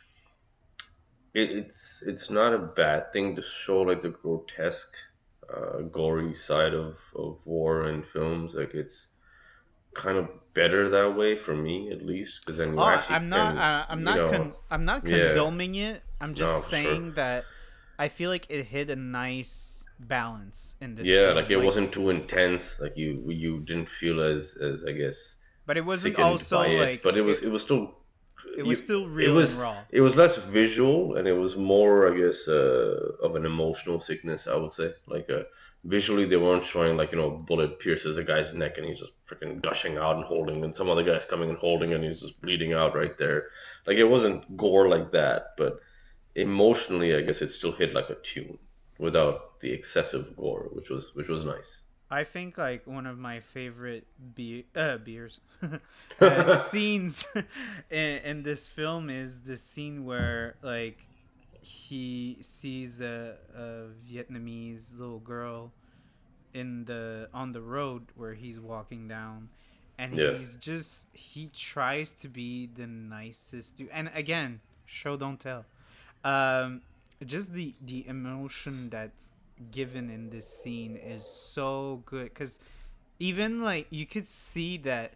it's not a bad thing to show like the grotesque, gory side of war in films. Like it's kind of better that way for me, at least, because then you
Oh,
actually can,
I'm not
yeah,
condoning it. I'm
no,
just
for sure.
saying that I feel like it hit a nice balance in this
Yeah, like
film.
it
Like,
wasn't too intense. Like you didn't feel as I guess
but it wasn't
sickened by
also
it,
like
but it was still
it was
you.
still
It
real and
was
raw.
it was less visual and it was more, I guess, of an emotional sickness. I would say, like visually they weren't showing like a bullet pierces a guy's neck and he's just freaking gushing out and holding, and some other guy's coming and holding and he's just bleeding out right there. Like it wasn't gore like that, but emotionally, I guess it still hit like a tune without the excessive gore, which was nice.
I think like one of my favorite beers
Yeah,
scenes in this film is the scene where like he sees a Vietnamese little girl in the on the road where he's walking down, and he tries to be the nicest dude, and again, show don't tell. um just the emotion that's given in this scene is so good, because even like you could see that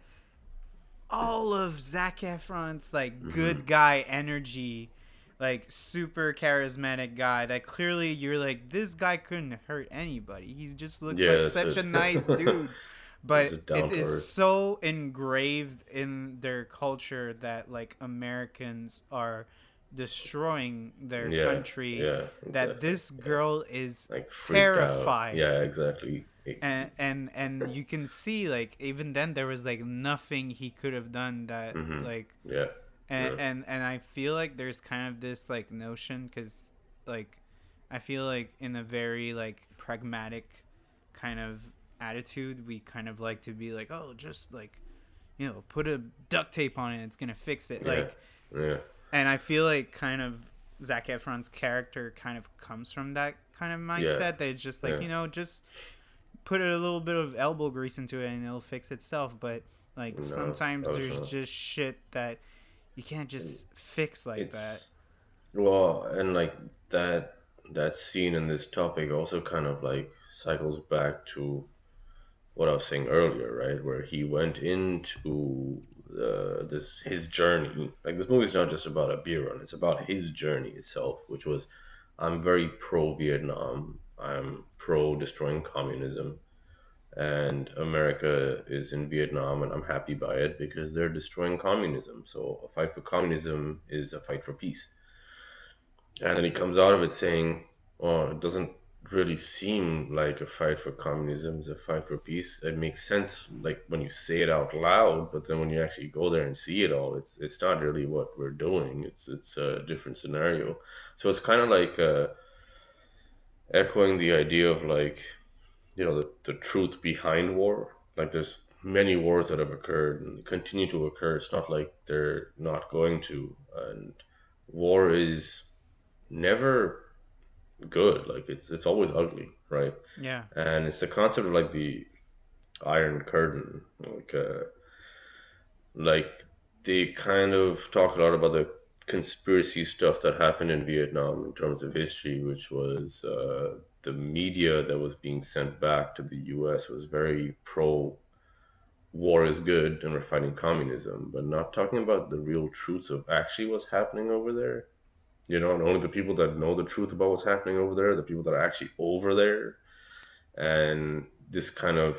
all of Zac Efron's like
hmm
good guy energy, like super charismatic guy that clearly you're like, this guy couldn't hurt anybody. He just looks like
yeah, that's
such
it.
a nice dude.
It's
But
just
it
down to
is
earth.
so engraved in their culture that like Americans are destroying their
Yeah,
country,
yeah,
that
exactly.
this
Yeah,
girl is
like freaked out.
terrified.
Yeah, exactly.
And you can see like even then there was like nothing he could have done that
hmm
like,
Yeah, yeah,
and I feel like there's kind of this like notion, because like I feel like in a very like pragmatic kind of attitude we kind of like to be like, oh, just like, put a duct tape on it, it's gonna fix it,
yeah,
like.
yeah,
And I feel like kind of Zac Efron's character kind of comes from that kind of
yeah,
mindset that it's just like,
yeah.
just put a little bit of elbow grease into it and it'll fix itself. But like
No,
sometimes
that was
there's
not.
just shit that you can't just fix like that.
It's well, and like that that scene and this topic also kind of like cycles back to what I was saying earlier, right? Where he went into this his journey. Like this movie's not just about a beer run; it's about his journey itself, which was, I'm very pro Vietnam. I'm pro destroying communism, and America is in Vietnam, and I'm happy by it because they're destroying communism. So a fight for communism is a fight for peace. And then he comes out of it saying, "Oh, it doesn't really seem like a fight for communism. It's a fight for peace." It makes sense, like when you say it out loud, but then when you actually go there and see it all, it's not really what we're doing. It's a different scenario. So it's kind of like echoing the idea of like the truth behind war. Like there's many wars that have occurred and continue to occur. It's not like they're not going to, and war is never good. Like it's always ugly, right?
Yeah.
And it's the concept of like the Iron Curtain. Like they kind of talk a lot about the conspiracy stuff that happened in Vietnam in terms of history, which was the media that was being sent back to the U.S. was very pro war is good and we're fighting communism, but not talking about the real truths of actually what's happening over there. And only the people that know the truth about what's happening over there, the people that are actually over there, and this kind of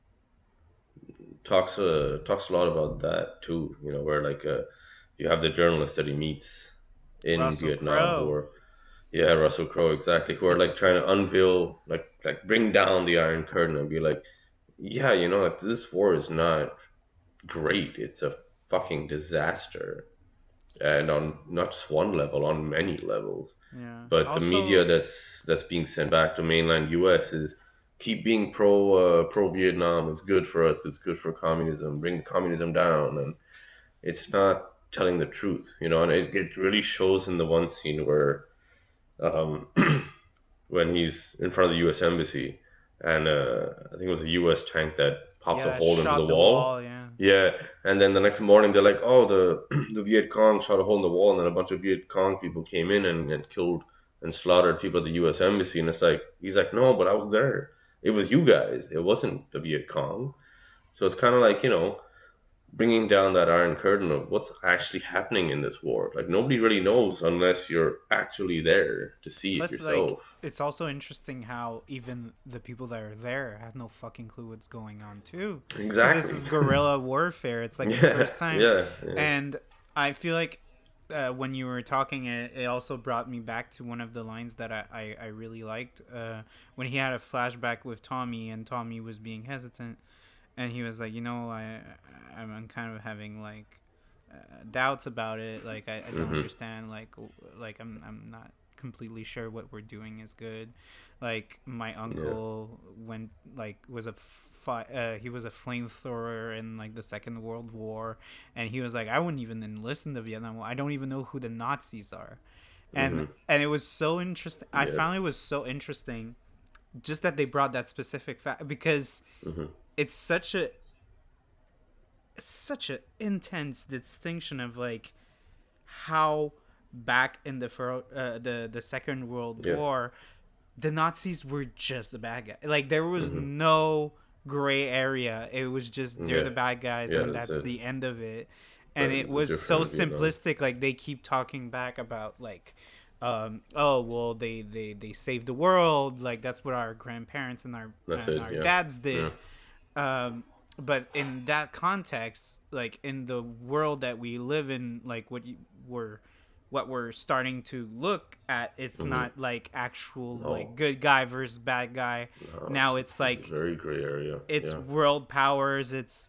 talks a lot about that too. Where like you have the journalist that he meets in
Russell
Vietnam who
Crowe.
are, yeah, Russell Crowe, exactly, who are like trying to unveil, like bring down the Iron Curtain and be like, yeah, like this war is not great. It's a fucking disaster, and on not just one level, on many levels.
Yeah.
But the media
Also,
that's being sent back to mainland U.S. is keep being pro Vietnam. It's good for us. It's good for communism. Bring communism down, and it's not telling the truth, And it really shows in the one scene where um, when he's in front of the U.S. embassy, and I think it was a U.S. tank that pops a
yeah,
hole into the
shot the
wall.
wall. Yeah.
Yeah, and then the next morning they're like, "Oh, the the Viet Cong shot a hole in the wall, and then a bunch of Viet Cong people came in and killed and slaughtered people at the U.S. embassy." And it's like he's like, "No, but I was there. It was you guys. It wasn't the Viet Cong." So it's kind of like. bringing down that iron curtain of what's actually happening in this war. Like nobody really knows unless you're actually there to see it
Plus, like,
yourself.
it's also interesting how even the people that are there have no fucking clue what's going on too, because this
Exactly.
is guerrilla warfare. It's like the
Yeah,
first time,
yeah, yeah.
and I feel like when you were talking, it also brought me back to one of the lines that I really liked when he had a flashback with Tommy, and Tommy was being hesitant, and he was like, I'm kind of having like doubts about it. Like I don't
Mm-hmm.
understand. Like I'm not completely sure what we're doing is good. Like my
Yeah.
uncle went like was he was a flamethrower in like the Second World War, and he was like, I wouldn't even enlist in the Vietnam War. I don't even know who the Nazis are,
Mm-hmm.
and it was so interesting. I
Yeah.
found it was so interesting just that they brought that specific fact because
Mm-hmm.
it's such a intense distinction of like how back in the Second World
Yeah.
War, the Nazis were just the bad guy. Like there was
Mm-hmm.
no gray area. It was just they're
Yeah.
the bad guys,
Yeah.
and
That's
that's
it.
the end of it. And
But
it
it's
was so
different in Vietnam.
simplistic. Like they keep talking back about like, oh well, they saved the world. Like that's what our grandparents and
That's it.
our
Yeah.
dads
Yeah.
did. But in that context, like in the world that we live in, like what we're starting to look at, it's
Mm-hmm.
not like actual like
No.
good guy versus bad guy.
No.
Now it's
It's a
like
very gray area.
it's
Yeah.
world powers,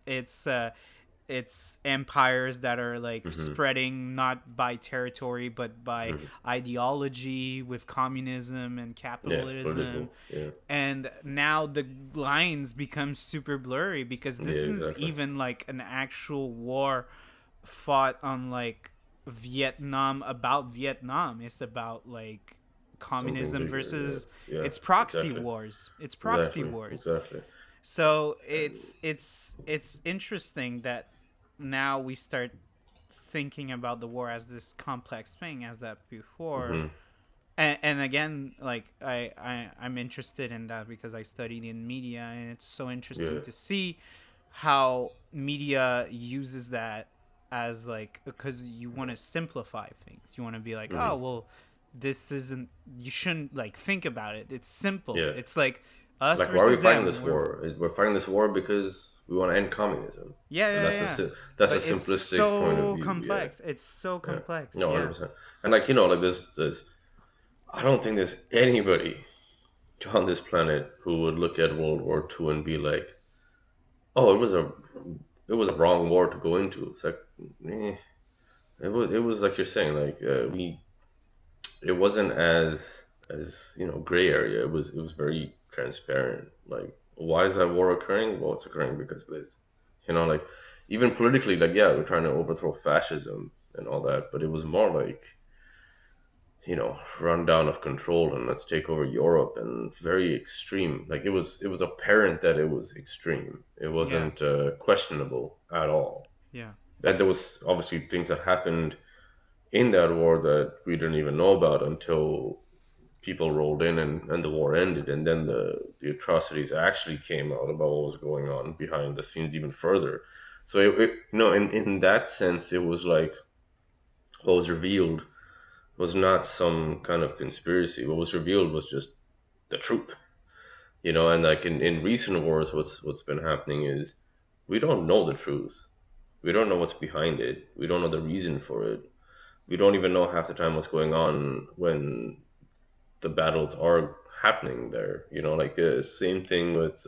it's empires that are like
Mm-hmm.
spreading not by territory but by
Mm-hmm.
ideology with communism and
Yeah. It's
capitalism.
political. Yeah.
And now the lines become super blurry because
Yeah.
this isn't
Exactly.
even like an actual war fought on like Vietnam about Vietnam. It's about like
Something
communism
bigger.
versus
Yeah. Yeah.
it's proxy
Exactly.
wars. It's proxy
Exactly.
wars.
Exactly.
So
And
it's interesting that now we start thinking about the war as this complex thing as that before.
mm-hmm.
And again, like I'm interested in that because I studied in media, and it's so interesting
Yeah.
to see how media uses that as like because you want to simplify things. You want to be like,
Mm-hmm.
oh well, this isn't. You shouldn't like think about it. It's simple.
Yeah.
It's like us
Like, why are we
versus
fighting
them.
this war? We're fighting this war because we want to end communism,
Yeah,
and
yeah, yeah.
that's a
But it's
simplistic point of
so
view. Yeah.
complex. It's so
Yeah.
complex.
No,
Yeah.
100%. And like like this. I don't think there's anybody on this planet who would look at World War II and be like, "Oh, it was a wrong war to go into." It's like, eh, it was like you're saying, like we it wasn't as gray area. It was very transparent. Like, why is that war occurring? Well, it's occurring because of this. Like even politically, like yeah, we're trying to overthrow fascism and all that, but it was more like rundown of control and let's take over Europe and very extreme. Like it was apparent that it was extreme. It
Yeah.
wasn't questionable at all.
Yeah.
That there was obviously things that happened in that war that we didn't even know about until people rolled in and the war ended, and then the atrocities actually came out about what was going on behind the scenes even further. So in that sense, it was like what was revealed was not some kind of conspiracy. What was revealed was just the truth. And like in recent wars, what's been happening is we don't know the truth. We don't know what's behind it. We don't know the reason for it. We don't even know half the time what's going on when the battles are happening there. Like same thing with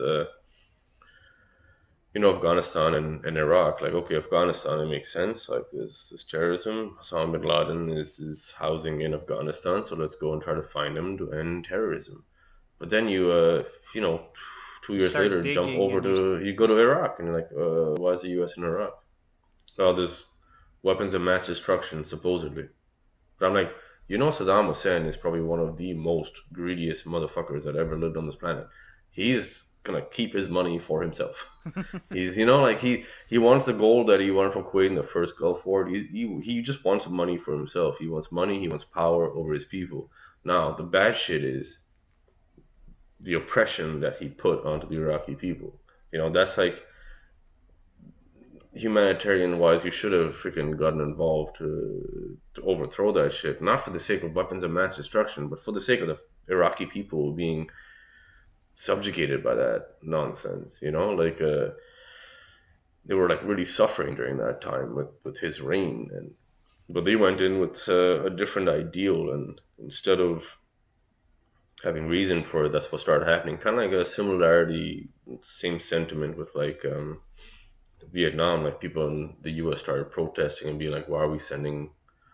Afghanistan and Iraq. Like okay, Afghanistan, it makes sense. Like this terrorism, Osama bin Laden is housing in Afghanistan, so let's go and try to find him to end terrorism. But then you know, two
You
years
start
later, jump
digging
over
and
to you go to Iraq, and you're like, why is the U.S. in Iraq? Oh, there's weapons of mass destruction supposedly. But I'm like, Saddam Hussein is probably one of the most greediest motherfuckers that ever lived on this planet. He's gonna keep his money for himself. He's, like he wants the gold that he won from Kuwait in the first Gulf War. He just wants money for himself. He wants money. He wants power over his people. Now the bad shit is the oppression that he put onto the Iraqi people. That's like humanitarian wise, you should have freaking gotten involved to overthrow that shit. Not for the sake of weapons of mass destruction, but for the sake of the Iraqi people being subjugated by that nonsense. Like they were like really suffering during that time with his reign, and but they went in with a different ideal, and instead of having reason for it, that's what started happening. Kind of like a similarity, same sentiment with like Vietnam. Like people in the U.S. started protesting and being like, "Why are we sending,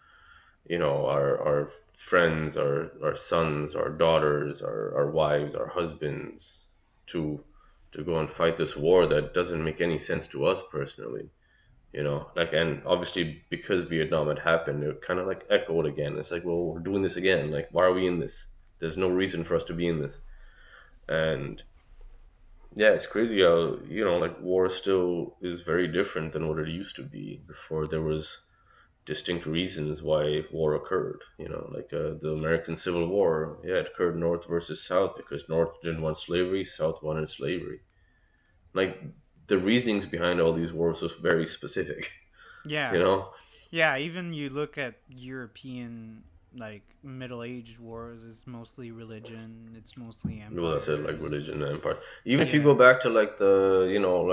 our friends, our sons, our daughters, our wives, our husbands to go and fight this war that doesn't make any sense to us personally?" Like, and obviously because Vietnam had happened, it kind of like echoed again. It's like, well, we're doing this again. Like, why are we in this? There's no reason for us to be in this. And yeah, it's crazy how, like war still is very different than what it used to be before there was distinct reasons why war occurred. Like the American Civil War, yeah, it occurred North versus South because North didn't want slavery, South wanted slavery. Like the reasonings behind all these wars was very specific, you
Yeah.
know?
Yeah, even you look at European like middle-aged wars, it's mostly religion, it's mostly
Well, that's it, like
empires.
religion and empire. Even if you
Yeah.
go back to like the,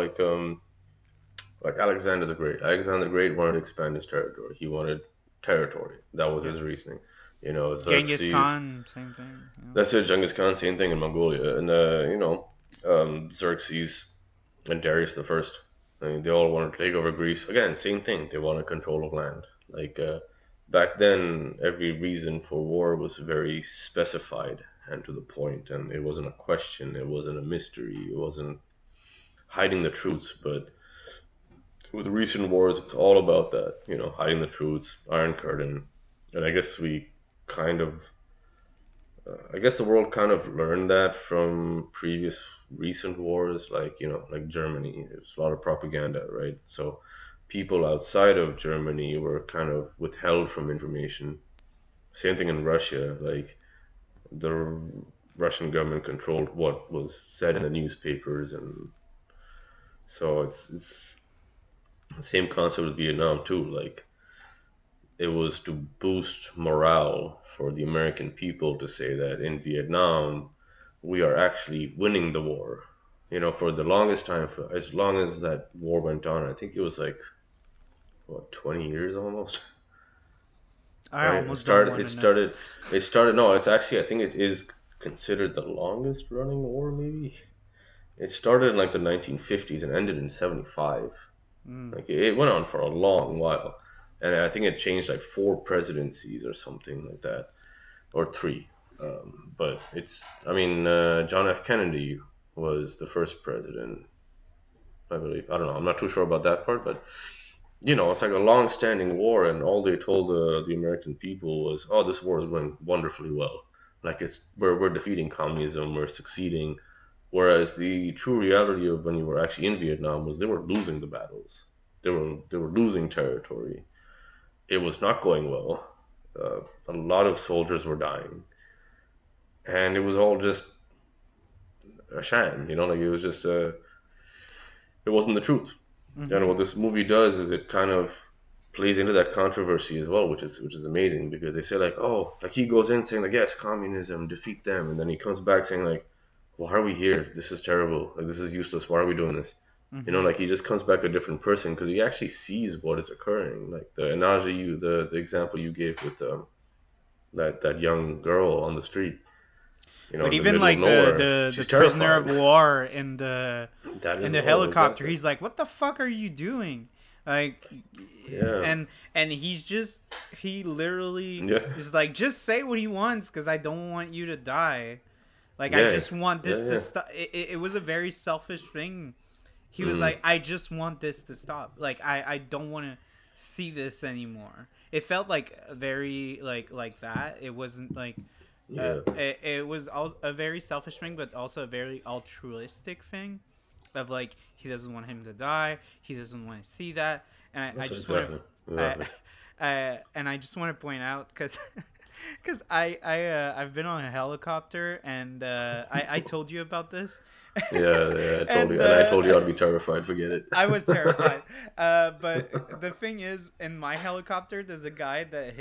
like Alexander the Great. Alexander the Great wanted to expand his territory. He wanted territory. That was
Yeah.
his reasoning.
Genghis
Xerxes.
Khan, same thing. Yeah.
That's it. Genghis Khan, same thing in Mongolia, and Xerxes and Darius the First. I mean, they all wanted to take over Greece. Again, same thing. They wanted control of land. Like back then, every reason for war was very specified and to the point, and it wasn't a question. It wasn't a mystery. It wasn't hiding the truths. But with recent wars, it's all about that. Hiding the truths, Iron Curtain, and I guess the world kind of learned that from previous recent wars, like like Germany. There's a lot of propaganda, right? So people outside of Germany were kind of withheld from information. Same thing in Russia, like the Russian government controlled what was said in the newspapers, and so it's the same concept with Vietnam too. Like it was to boost morale for the American people to say that in Vietnam we are actually winning the war. For the longest time, for as long as that war went on, I think it was like what 20 years almost,
I
right? It
almost don't
started.
want
It
to know.
started. It started. No, it's actually. I think it is considered the longest running war. Maybe it started in like the 1950s and ended in 75.
Mm.
Like it went on for a long while, and I think it changed like four presidencies or something like that, or three. But I mean, John F. Kennedy was the first president, I believe. I don't know. I'm not too sure about that part, but it's like a long-standing war, and all they told the American people was, "Oh, this war is going wonderfully well. Like we're defeating communism, we're succeeding." Whereas the true reality of when you were actually in Vietnam was they were losing the battles. They were losing territory. It was not going well. A lot of soldiers were dying, and it was all just a sham. Like it was just it wasn't the truth. And
Mm-hmm.
what this movie does is it kind of plays into that controversy as well, which is amazing because they say like, oh, like he goes in saying like, yes, communism, defeat them, and then he comes back saying like, why are we here? This is terrible. Like this is useless. Why are we doing this?
Mm-hmm.
Like he just comes back a different person because he actually sees what is occurring. Like the analogy the example you gave with that young girl on the street,
But
in the
even
middle of
like the
nowhere,
the the
she's
prisoner of
terrified.
war in the
That
in
as
the
well,
helicopter,
exactly.
he's like, "What the fuck are you doing?" Like,
Yeah,
and he literally
yeah,
is like, "Just say what he wants, because I don't want you to die. Like, I
yeah,
just want
yeah,
this to
yeah.
stop." It was a very selfish thing. He was
Mm,
like, "I just want this to stop. Like, I don't want to see this anymore." It felt like very like that. It wasn't like
yeah.
it was a very selfish thing, but also a very altruistic thing. Of like, he doesn't want him to die. He doesn't want to see that, and I
That's
just want
exactly,
to,
exactly.
and I just want to point out because. Because I've been on a helicopter and I told you about this
Yeah, I told
And
you, and I told you I'd be terrified. Forget it.
I was terrified. But the thing is, in my helicopter, there's a guy that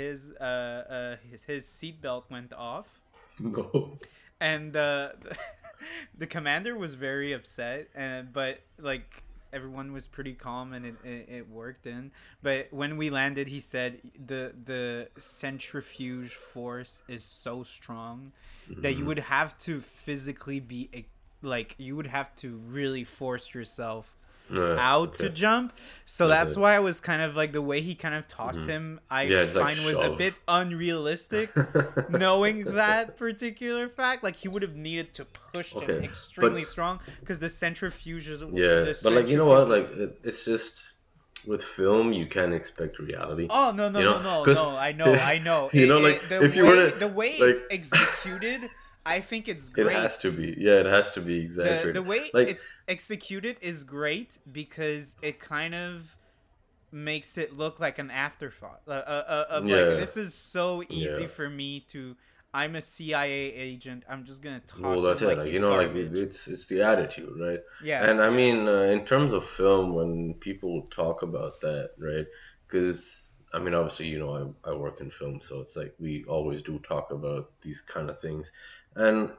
his seatbelt went off,
No.
and the commander was very upset. And but like everyone was pretty calm, and it worked in. But when we landed, he said the centrifuge force is so strong that you would have to physically be like you would have to really force yourself out to
Okay.
jump. So
That's
that's
it.
why I was kind of like the way he kind of tossed him, I
Yeah, it's like
find was a bit
shove.
unrealistic, knowing that particular fact. Like he would have needed to push him
Okay,
extremely
but
strong because the centrifuges,
yeah,
the
but like you know what?
centrifuge.
Like it's just with film, you can't expect reality.
Oh no
You
no no
know,
no
because
no! I know.
like
The
if you were
way
to like,
it's executed, I think it's
it has
great.
to be. Yeah, it has to be
The
exaggerated.
way
Like,
it's executed is great because it kind of makes it look like an afterthought of like
yeah,
this is so
yeah.
easy for me to. I'm a CIA agent. I'm just gonna
Well,
toss
that's
him
it.
like
Like
he's
like
garbage.
it's the attitude, right?
Yeah,
And I
yeah,
mean, in terms of film, when people talk about that, right? Because I mean, obviously, I work in film, so it's like we always do talk about these kind of things, and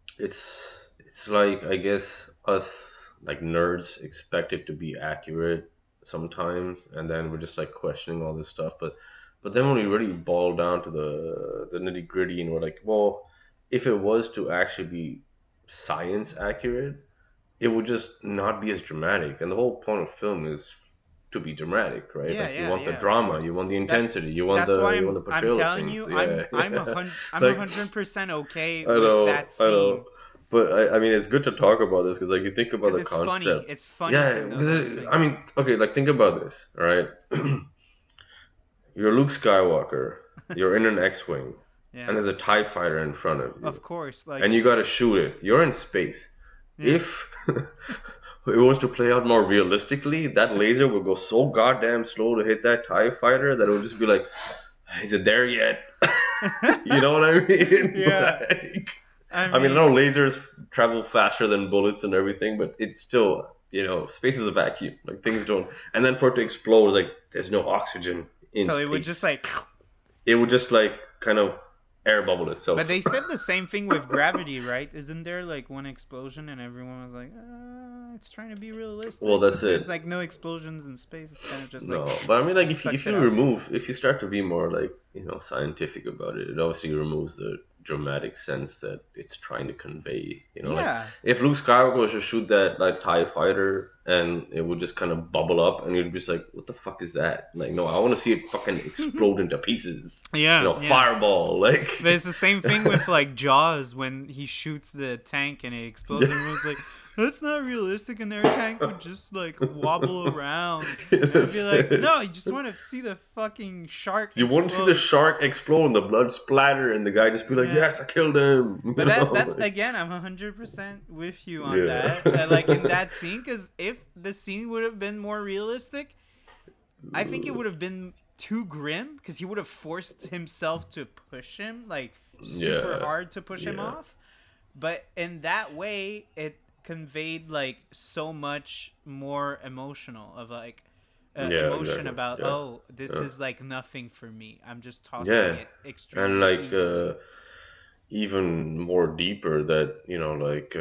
it's like I guess us like nerds expect it to be accurate sometimes, and then we're just like questioning all this stuff. But then when we really boil down to the nitty gritty, and we're like, well, if it was to actually be science accurate, it would just not be as dramatic. And the whole point of film is to be dramatic, right?
yeah,
Like you
yeah,
want the
yeah. Of
drama,
course.
you want the
That's
intensity,
that's why
you want the
I'm
portrayal of
telling
things.
you
Yeah, yeah.
I'm a
Like
100% okay
I
with that
know, I
scene
know. But I mean, it's good to talk about this because, like, you think about
because
the
it's funny.
concept.
It's funny to
Yeah,
know
because
that
I
scene.
mean, okay, like, think about this, all right? You're Luke Skywalker, you're in an X Wing, and
Yeah,
there's a TIE fighter in front of
of
you,
course.
and
Like
you gotta shoot it. You're in space.
yeah.
If it was to play out more realistically, that laser would go so goddamn slow to hit that TIE fighter that it would just be like, is it there yet? You know what I mean?
Yeah.
Like,
I
I mean, I know
mean,
lasers travel faster than bullets and everything, but it's still, space is a vacuum. Like things don't. And then for it to explode, like there's no oxygen in
so it would just
space.
like.
It would just like kind of air bubble
But
itself.
they said the same thing with gravity, right? Isn't there like one explosion and everyone was like, it's trying to be
Well,
realistic,
that's
but there's
it.
like no explosions in space. It's kind of just like
No, but I mean, like
sucks
if
it
you
out.
remove, if you start to be more like scientific about it, it obviously removes the dramatic sense that it's trying to convey. Like
Yeah.
if Luke Skywalker was to shoot that like Tie Fighter and it would just kind of bubble up, and you'd be just like, "What the fuck is that?" Like, no, I want to see it fucking explode into pieces.
Yeah, yeah.
Fireball, like.
But it's the same thing with like Jaws when he shoots the tank and it explodes. And everyone's like, "That's not realistic," and their tank would just like wobble around. And I'd be
That's
like,
it.
"No, you just want to see the fucking shark
You want to see the
explode."
shark explode and the blood splatter, and the guy just be like,
Yeah.
"Yes, I killed him."
But that's again, I'm 100% with you on
Yeah.
that. Like in that scene, because if the scene would have been more realistic, I think it would have been too grim because he would have forced himself to push him like super
Yeah.
hard to push him
Yeah.
off. But in that way, it conveyed like so much more emotional of like
Yeah,
emotion
exactly.
about
Yeah.
oh this
Yeah.
is like nothing for me. I'm just tossing
Yeah.
it
And
extremely
like
easily.
even more deeper that, like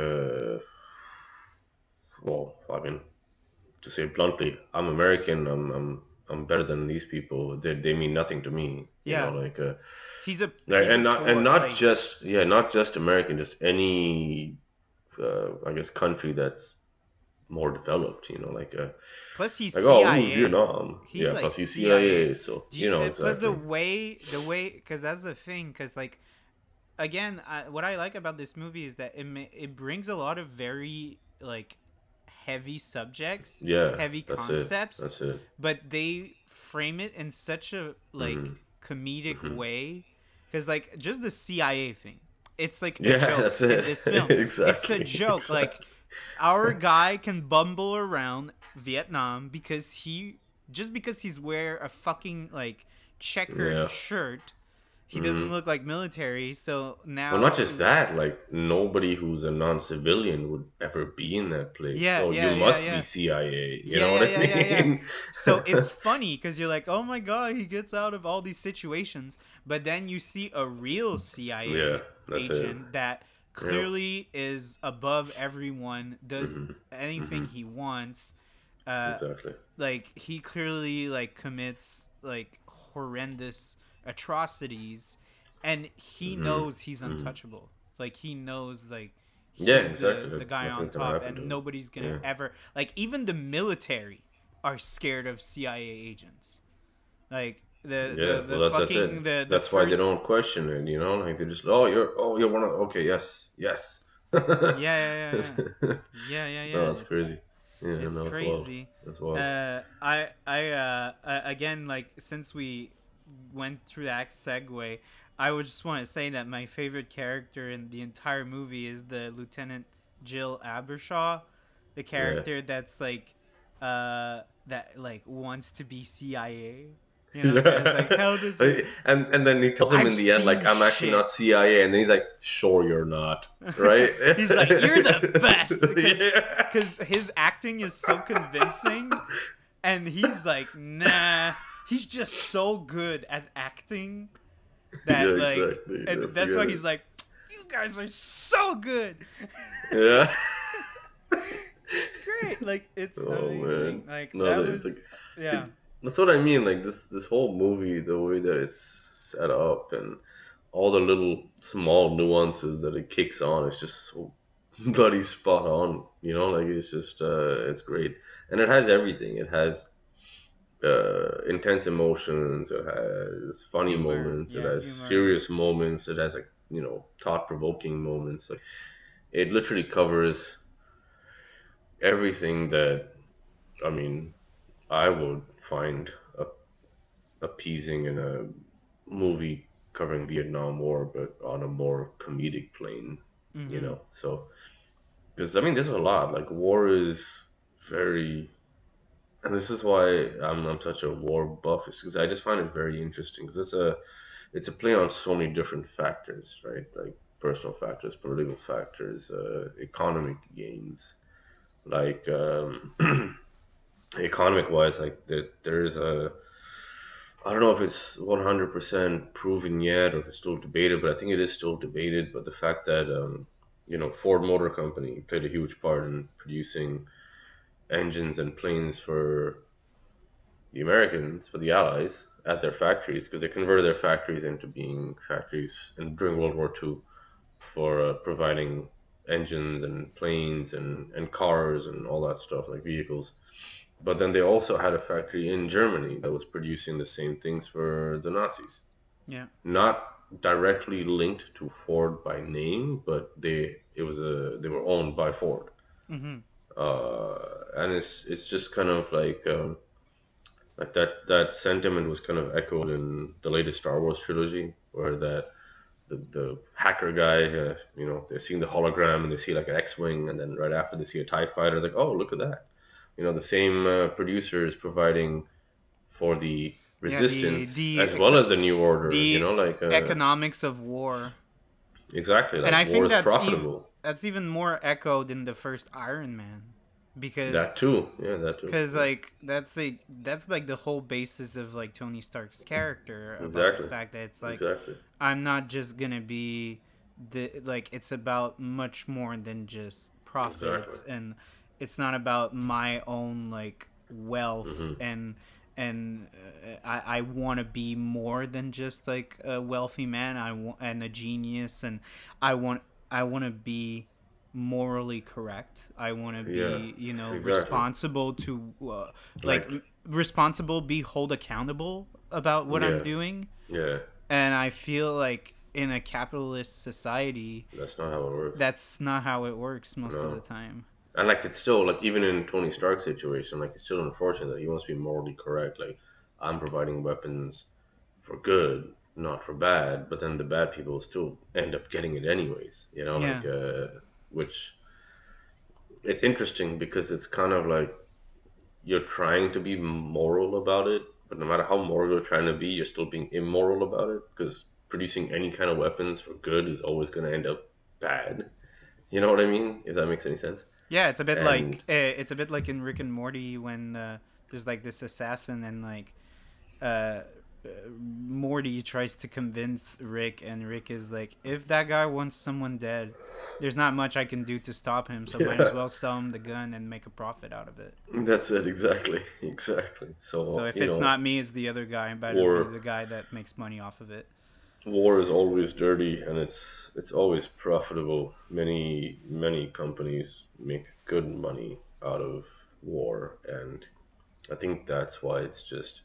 well, I mean, to say it bluntly, I'm American, I'm better than these people. They mean nothing to me,
Yeah,
like,
he's a
and
tour
not
like
just not just American, just any I guess country that's more developed,
plus he's
like, oh, ooh,
CIA.
Vietnam.
He's
Yeah,
like
plus he's
CIA.
CIA, so
Do you, plus
exactly.
the way, because that's the thing. Because like again, what I like about this movie is that it brings a lot of very like heavy subjects,
Yeah,
heavy
that's it.
concepts,
That's it.
but they frame it in such a like
Hmm.
comedic
Hmm.
way. Because like just the CIA thing, it's like a
Yeah,
joke
that's
in
it.
this film. It's a
Exactly.
joke.
Exactly.
Like our guy can bumble around Vietnam because he's wear a fucking like checkered
Yeah.
shirt, he doesn't
Hmm.
look like military. So
Well, not
now,
just that, like nobody who's a non-civilian would ever be in that place.
yeah,
So you
yeah, yeah,
must be
yeah.
CIA. You
Yeah,
know what
yeah,
I
yeah, yeah, yeah.
mean?
So it's funny because you're like, oh my god, he gets out of all these situations, but then you see a real
Yeah,
CIA
that's it.
agent that
Yep.
clearly is above everyone, does
Hmm.
anything
Hmm.
he wants. Uh,
Exactly.
like he clearly like commits like horrendous atrocities, and he
Hmm.
knows he's
Hmm.
untouchable. Like he knows like
Yeah,
he's
exactly.
the
Like,
guy on
nothing's gonna
top,
happen to
and
him.
nobody's gonna
Yeah.
ever like even the military are scared of CIA agents. Like
Yeah. Well,
the
that's
fucking
it.
the
That's why they
first
don't question it. You know, like they just, oh you're one of, okay, yes, yes. No,
yeah, yeah, yeah, yeah. Yeah, yeah, yeah.
that's crazy. Yeah,
It's
no, it's wild.
crazy.
That's wild.
Again, like since we went through that segue, I would just want to say that my favorite character in the entire movie is the Lieutenant Jill Abershaw, the
Yeah.
character that's like, that like wants to be CIA. You know, the guy's like,
Yeah.
how does it?
And then he tells him
I've
in the end, like,
seen
I'm actually
shit.
not CIA, and then he's like, sure you're not, right?
He's like, you're the best
Yeah.
because his acting is so convincing, and he's like, nah, he's just so good at acting
Yeah,
that like,
exactly. I
and that's
forget
why
it.
he's like, you guys are so good.
Yeah.
It's great. Like it's
Oh man.
amazing. Like
No,
that
it's
was
like
yeah.
it, that's what I mean. Like this whole movie, the way that it's set up and all the little small nuances that it kicks on, it's just so bloody spot on. You know, like it's just it's great. And it has everything. It has intense emotions, it has funny
Humor.
moments, it
Yeah,
has
humor.
serious moments, it has like, thought provoking moments. Like it literally covers everything that, I mean, I would find appeasing in a movie covering Vietnam War, but on a more comedic plane,
Mm-hmm.
So, because I mean, there's a lot. Like, war is very, and this is why I'm such a war buff, is because I just find it very interesting. Because it's a play on so many different factors, right? Like personal factors, political factors, economic gains. Like, economic wise, like there's a, I don't know if it's 100% proven yet or if it's still debated, but I think it is still debated. But the fact that, Ford Motor Company played a huge part in producing engines and planes for the Americans, for the Allies, at their factories, because they converted their factories into being factories during World War II for providing engines and planes and cars and all that stuff, like vehicles. But then they also had a factory in Germany that was producing the same things for the Nazis.
Yeah.
Not directly linked to Ford by name, but they were owned by Ford.
Mm-hmm.
And it's just kind of like that sentiment was kind of echoed in the latest Star Wars trilogy, where the hacker guy, they're seeing the hologram and they see like an X-wing, and then right after they see a Tie fighter, it's like, oh, look at that. The same producer is providing for the
Yeah.
Resistance as well as the New Order.
The
Like
economics of war.
exactly,
And
like
I
war
think
is profitable.
that's even more echoed in the first Iron Man,
That
because
too, yeah, that too. Yeah.
like that's like the whole basis of like Tony Stark's character, about the
Exactly,
fact that it's like,
exactly,
I'm not just gonna be the like, it's about much more than just
exactly.
profits, and it's not about my own like wealth,
Hmm.
and I want to be more than just like a wealthy man. I want, and a genius, and I want I want to be morally correct. I want to
Yeah,
be,
exactly.
responsible to like
Like,
responsible, be hold accountable about what I'm
yeah,
doing.
yeah.
And I feel like in a capitalist society,
That's not how it works.
that's not how it works most of the
No.
time.
And like it's still like even in Tony Stark's situation, like it's still unfortunate that he wants to be morally correct. Like I'm providing weapons for good, not for bad, but then the bad people still end up getting it anyways.
Yeah.
Which it's interesting because it's kind of like you're trying to be moral about it, but no matter how moral you're trying to be, you're still being immoral about it because producing any kind of weapons for good is always going to end up bad. You know what I mean? If that makes any sense.
Yeah, it's a bit
And
like it's a bit like in Rick and Morty when there's like this assassin and like uh, Morty tries to convince Rick, and Rick is like, if that guy wants someone dead, there's not much I can do to stop him, so might as
yeah,
well sell him the gun and make a profit out of it.
that's it exactly, exactly.
So
So
if it's not me, it's the other guy. Better be
war
the guy that makes money off of it.
war is always dirty and it's always profitable. Many companies make good money out of war, and I think that's why it's just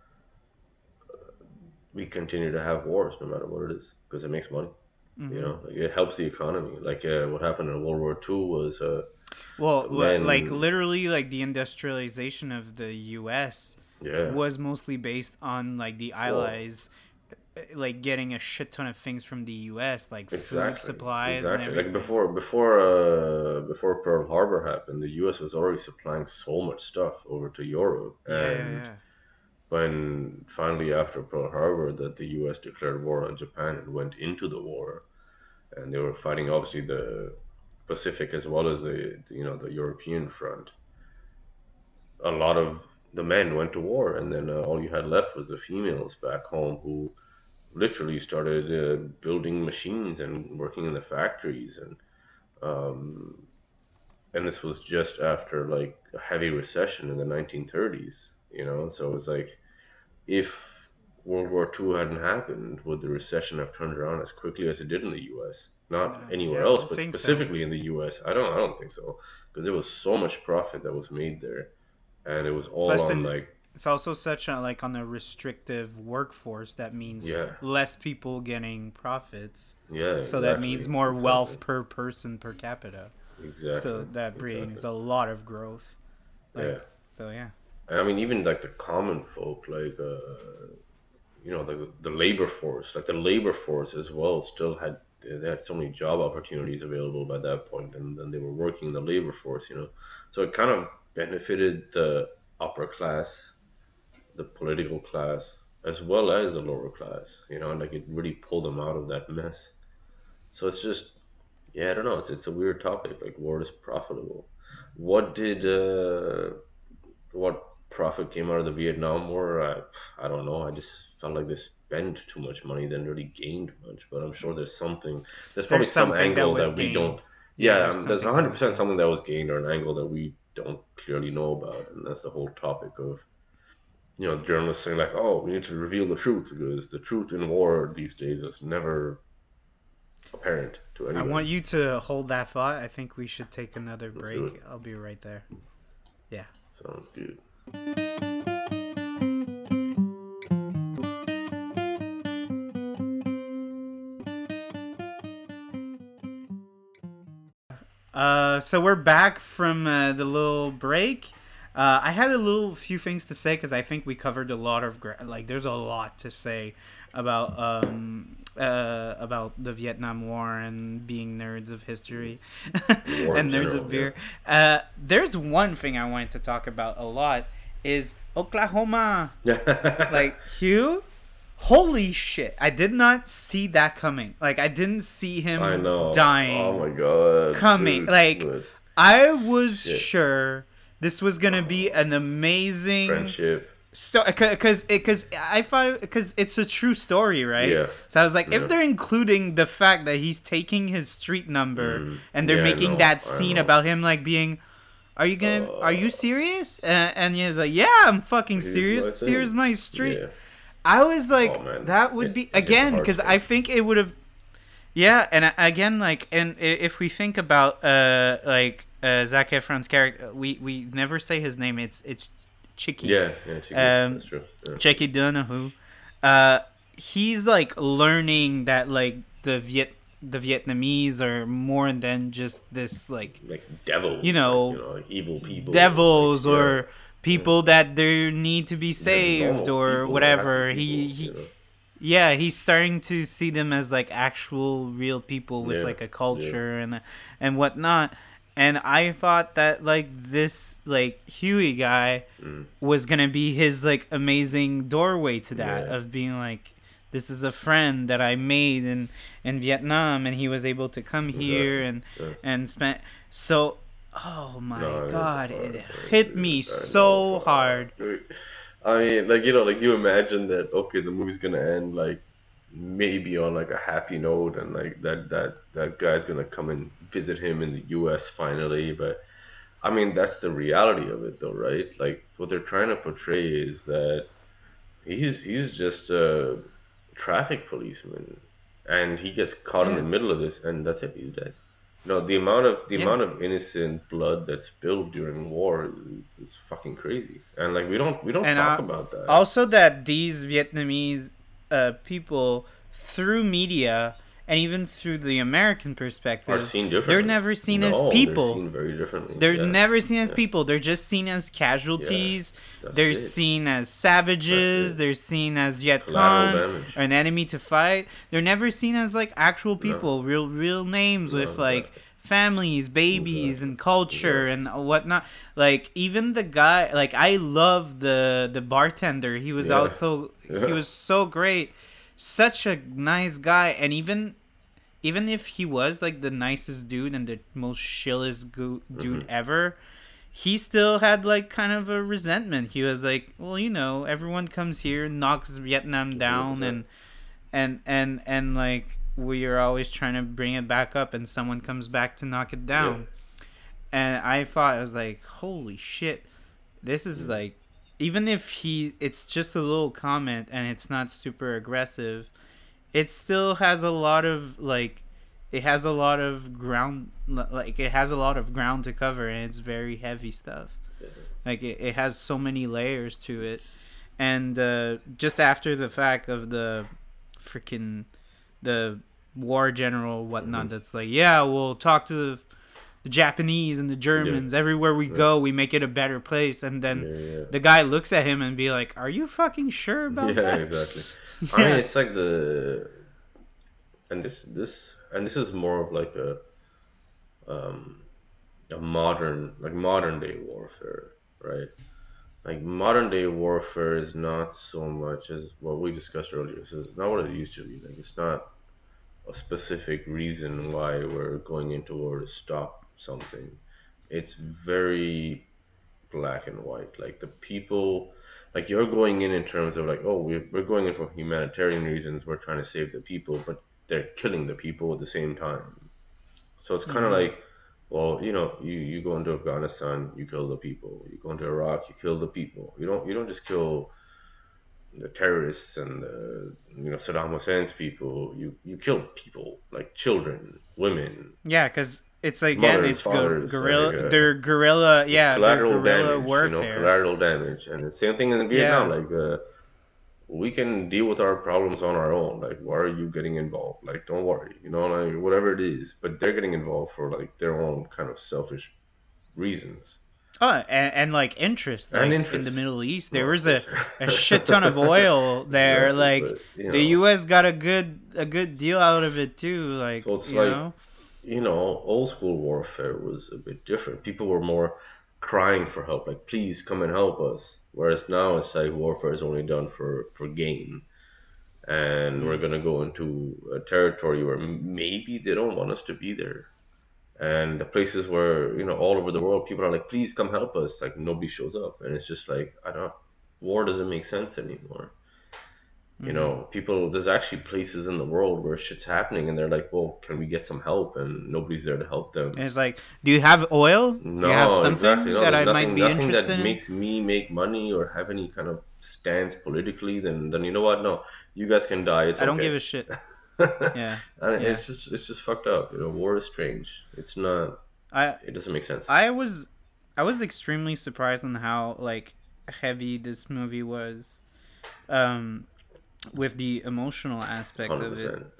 we continue to have wars no matter what it is because it makes money. You
Hmm.
know, like it helps the economy. Like what happened in World War II was
Well, like
men,
literally, like the industrialization of the U.S.
yeah.
was mostly based on like the
Well,
Allies, like getting a shit ton of things from the U.S., like food
exactly,
supplies and
exactly. Like
everything.
before Pearl Harbor happened, the U.S. was already supplying so much stuff over to Europe,
Yeah, yeah,
and
yeah.
when finally after Pearl Harbor that the U.S. declared war on Japan and went into the war, and they were fighting obviously the Pacific as well as the European front. A lot of the men went to war, and then all you had left was the females back home who literally started building machines and working in the factories, um, and this was just after like a heavy recession in the 1930s. So it was like if World War II hadn't happened, would the recession have turned around as quickly as it did in the U.S.? Not anywhere
Yeah, I
else,
don't
but
think so.
specifically in the U.S. I don't think so, because there was so much profit that was made there, and it was all
Plus,
on
in
like
it's also such a like on a restrictive workforce that means
yeah,
less people getting profits.
yeah,
So that means
exactly,
more
exactly,
wealth per person per capita. So
exactly,
that brings
exactly,
a lot of growth. Like
yeah.
so, yeah.
I mean, even like the common folk, like the labor force, like the labor force as well, still had they had so many job opportunities available by that point, and then they were working in the labor force, so it kind of benefited the upper class, the political class, as well as the lower class, and like it really pulled them out of that mess. So it's just, yeah, I don't know, it's a weird topic. Like, war is profitable. What did what profit came out of the Vietnam War? I don't know. I just felt like they spent too much money, then really gained much. But I'm sure there's something. There's probably
There's
some
something that
angle
was
that we
gained.
don't.
Yeah,
Yeah,
there's
there's
something that was
100%
gained.
something that was gained or an angle that we don't clearly know about, and that's the whole topic of journalists saying like, oh, we need to reveal the truth because the truth in war these days is never apparent to
I want
anybody.
you to hold that thought. I think we should take another
Let's do it.
break. I'll be right there. Yeah.
Sounds good.
So we're back from the little break. I had a little few things to say because I think we covered a lot of like. There's a lot to say about the Vietnam War and being nerds of history
The war in
and nerds of
general, yeah.
beer. There's one thing I wanted to talk about a lot is Oklahoma. Like Hugh, holy shit! I did not see that coming. Like I didn't see
I
him
know. Oh
dying
my god,
coming.
dude.
Like
But
I was
shit.
sure this was gonna be an amazing
Friendship.
story because I thought because it's a true story, right?
Yeah.
So I was like, if
Yeah.
they're including the fact that he's taking his street number and they're
Yeah, I
making
know.
that
I
scene
know.
about him like being. Are you
Uh,
serious? And he was like, yeah, I'm fucking
here's my
serious. Here's
thing.
my street.
Yeah.
I was
Oh
like,
man,
that would
it
be
it hit the
again because I
heartstrings.
think it would have. Yeah, and again, like, and if we think about Zac Efron's character, we never say his name. It's Chicky,
Yeah, yeah, Chicky.
um,
That's true. Yeah.
Chicky Donahue. Uh, he's like learning that like the Vietnamese are more than just this like
Like
you
devils,
know
like evil people. Like
devils
yeah,
or
yeah.
people that they need to be
They're
saved
normal
or
people. They're happy
whatever.
people.
He yeah, he's starting to see them as like actual real people with
Yeah,
like a
yeah,
culture and whatnot. And I thought that like this like Huey guy
mm,
was gonna be his like amazing doorway to that
yeah,
of being like this is a friend that I made in Vietnam, and he was able to come here
Exactly. Yeah.
and spend. So, oh my
No, it's
God,
hard,
it
man,
hit me
dude. I know,
so hard.
fuck. I mean, like, you know, like you imagine that, okay, the movie's gonna end like maybe on like a happy note, and like that guy's gonna come and visit him in the US finally. But I mean, that's the reality of it though, right? Like what they're trying to portray is that he's just a traffic policeman, and he gets caught in the
Yeah,
middle of this, and that's it. He's dead. No, the amount of
yeah.
innocent blood that's spilled during war is fucking crazy, and like we don't
And
talk about that.
also that these Vietnamese people, through media and even through the American
Are
perspective,
seen
they're
differently.
never seen as
No, they're
people.
seen very differently.
They're
Yeah,
never seen as
yeah,
people. They're just seen as
yeah.
casualties.
That's
They're
it.
seen as
That's
savages.
it.
They're seen as Viet
Collateral
Cong,
damage.
an enemy to fight. They're never seen as like actual
No,
people, real names with
no,
like
exactly,
families, babies,
exactly,
and culture
exactly.
and whatnot. Like even the guy, like I love the bartender.
Yeah,
He
yeah.
was so great, such a nice guy, and even if he was like the nicest dude and the most chillest dude
Hmm.
ever, he still had like kind of a resentment. He was like, well, everyone comes here, knocks Vietnam down,
100%.
and like we are always trying to bring it back up, and someone comes back to knock it
Yeah.
down. And I was like, holy shit, this is
Mm.
like, even if it's just a little comment and it's not super aggressive, it still has a lot of like it has a lot of ground, like it has a lot of ground to cover, and it's very heavy stuff.
Yeah.
Like it has so many layers to it. And just after the fact of the freaking the war general whatnot,
Hmm.
that's like, yeah, we'll talk to the Japanese and the
Yeah.
Germans everywhere we
Yeah.
go, we make it a better place. And then
Yeah. Yeah.
the guy looks at him and be like, are you fucking sure about
Yeah.
that?
Exactly. I mean,
Yeah.
it's like and this is more of like um a modern day warfare, right? Like modern day warfare is not so much as what we discussed earlier. So it's not what it used to be. Like it's not a specific reason why we're going into war to stop something. It's very black and white. Like the people, like you're going in terms of like, oh, we're going in for humanitarian reasons. We're trying to save the people, but they're killing the people at the same time. So it's kind of
Mm-hmm.
like, well, you go into Afghanistan, you kill the people. You go into Iraq, you kill the people. You don't just kill the terrorists and Saddam Hussein's people. You kill people like children, women,
Yeah, because it's again,
mothers,
it's
fathers. Like
guerrilla. They're guerrilla.
it's
Yeah, they're
collateral
guerrilla
damage.
warfare.
Collateral damage, and the same thing in Vietnam.
Yeah,
Like we can deal with our problems on our own. Like why are you getting involved? Like don't worry, like whatever it is. But they're getting involved for like their own kind of selfish reasons
oh, and like interest,
and
like in the
interests.
Middle East,
No,
there
of
was
course.
a shit ton of oil there.
Exactly,
Like
but
the U.S. got a good deal out of it too. Like
so it's like old school warfare was a bit different. People were more crying for help, like please come and help us. Whereas now it's like warfare is only done for gain, and we're
Mm.
gonna go into a territory where maybe they don't want us to be there. And the places where all over the world people are like, please come help us. Like nobody shows up, and it's just like I don't. War doesn't make sense anymore.
Mm-hmm.
People, there's actually places in the world where shit's happening and they're like, well, can we get some help? And nobody's there to help them.
And it's like, do you have oil? Do you have
No, exactly.
something
No,
that
there's
I might
nothing,
be
nothing that
interested in?
makes me make money or have any kind of stance politically. Then you know what? No, you guys can die. It's
I don't
okay.
give a shit. Yeah,
And
yeah.
it's just fucked up. War is strange. It's not.
I
It doesn't make sense.
I was I was extremely surprised on how like heavy this movie was. Um, with the emotional aspect
Hundred
of it,
percent.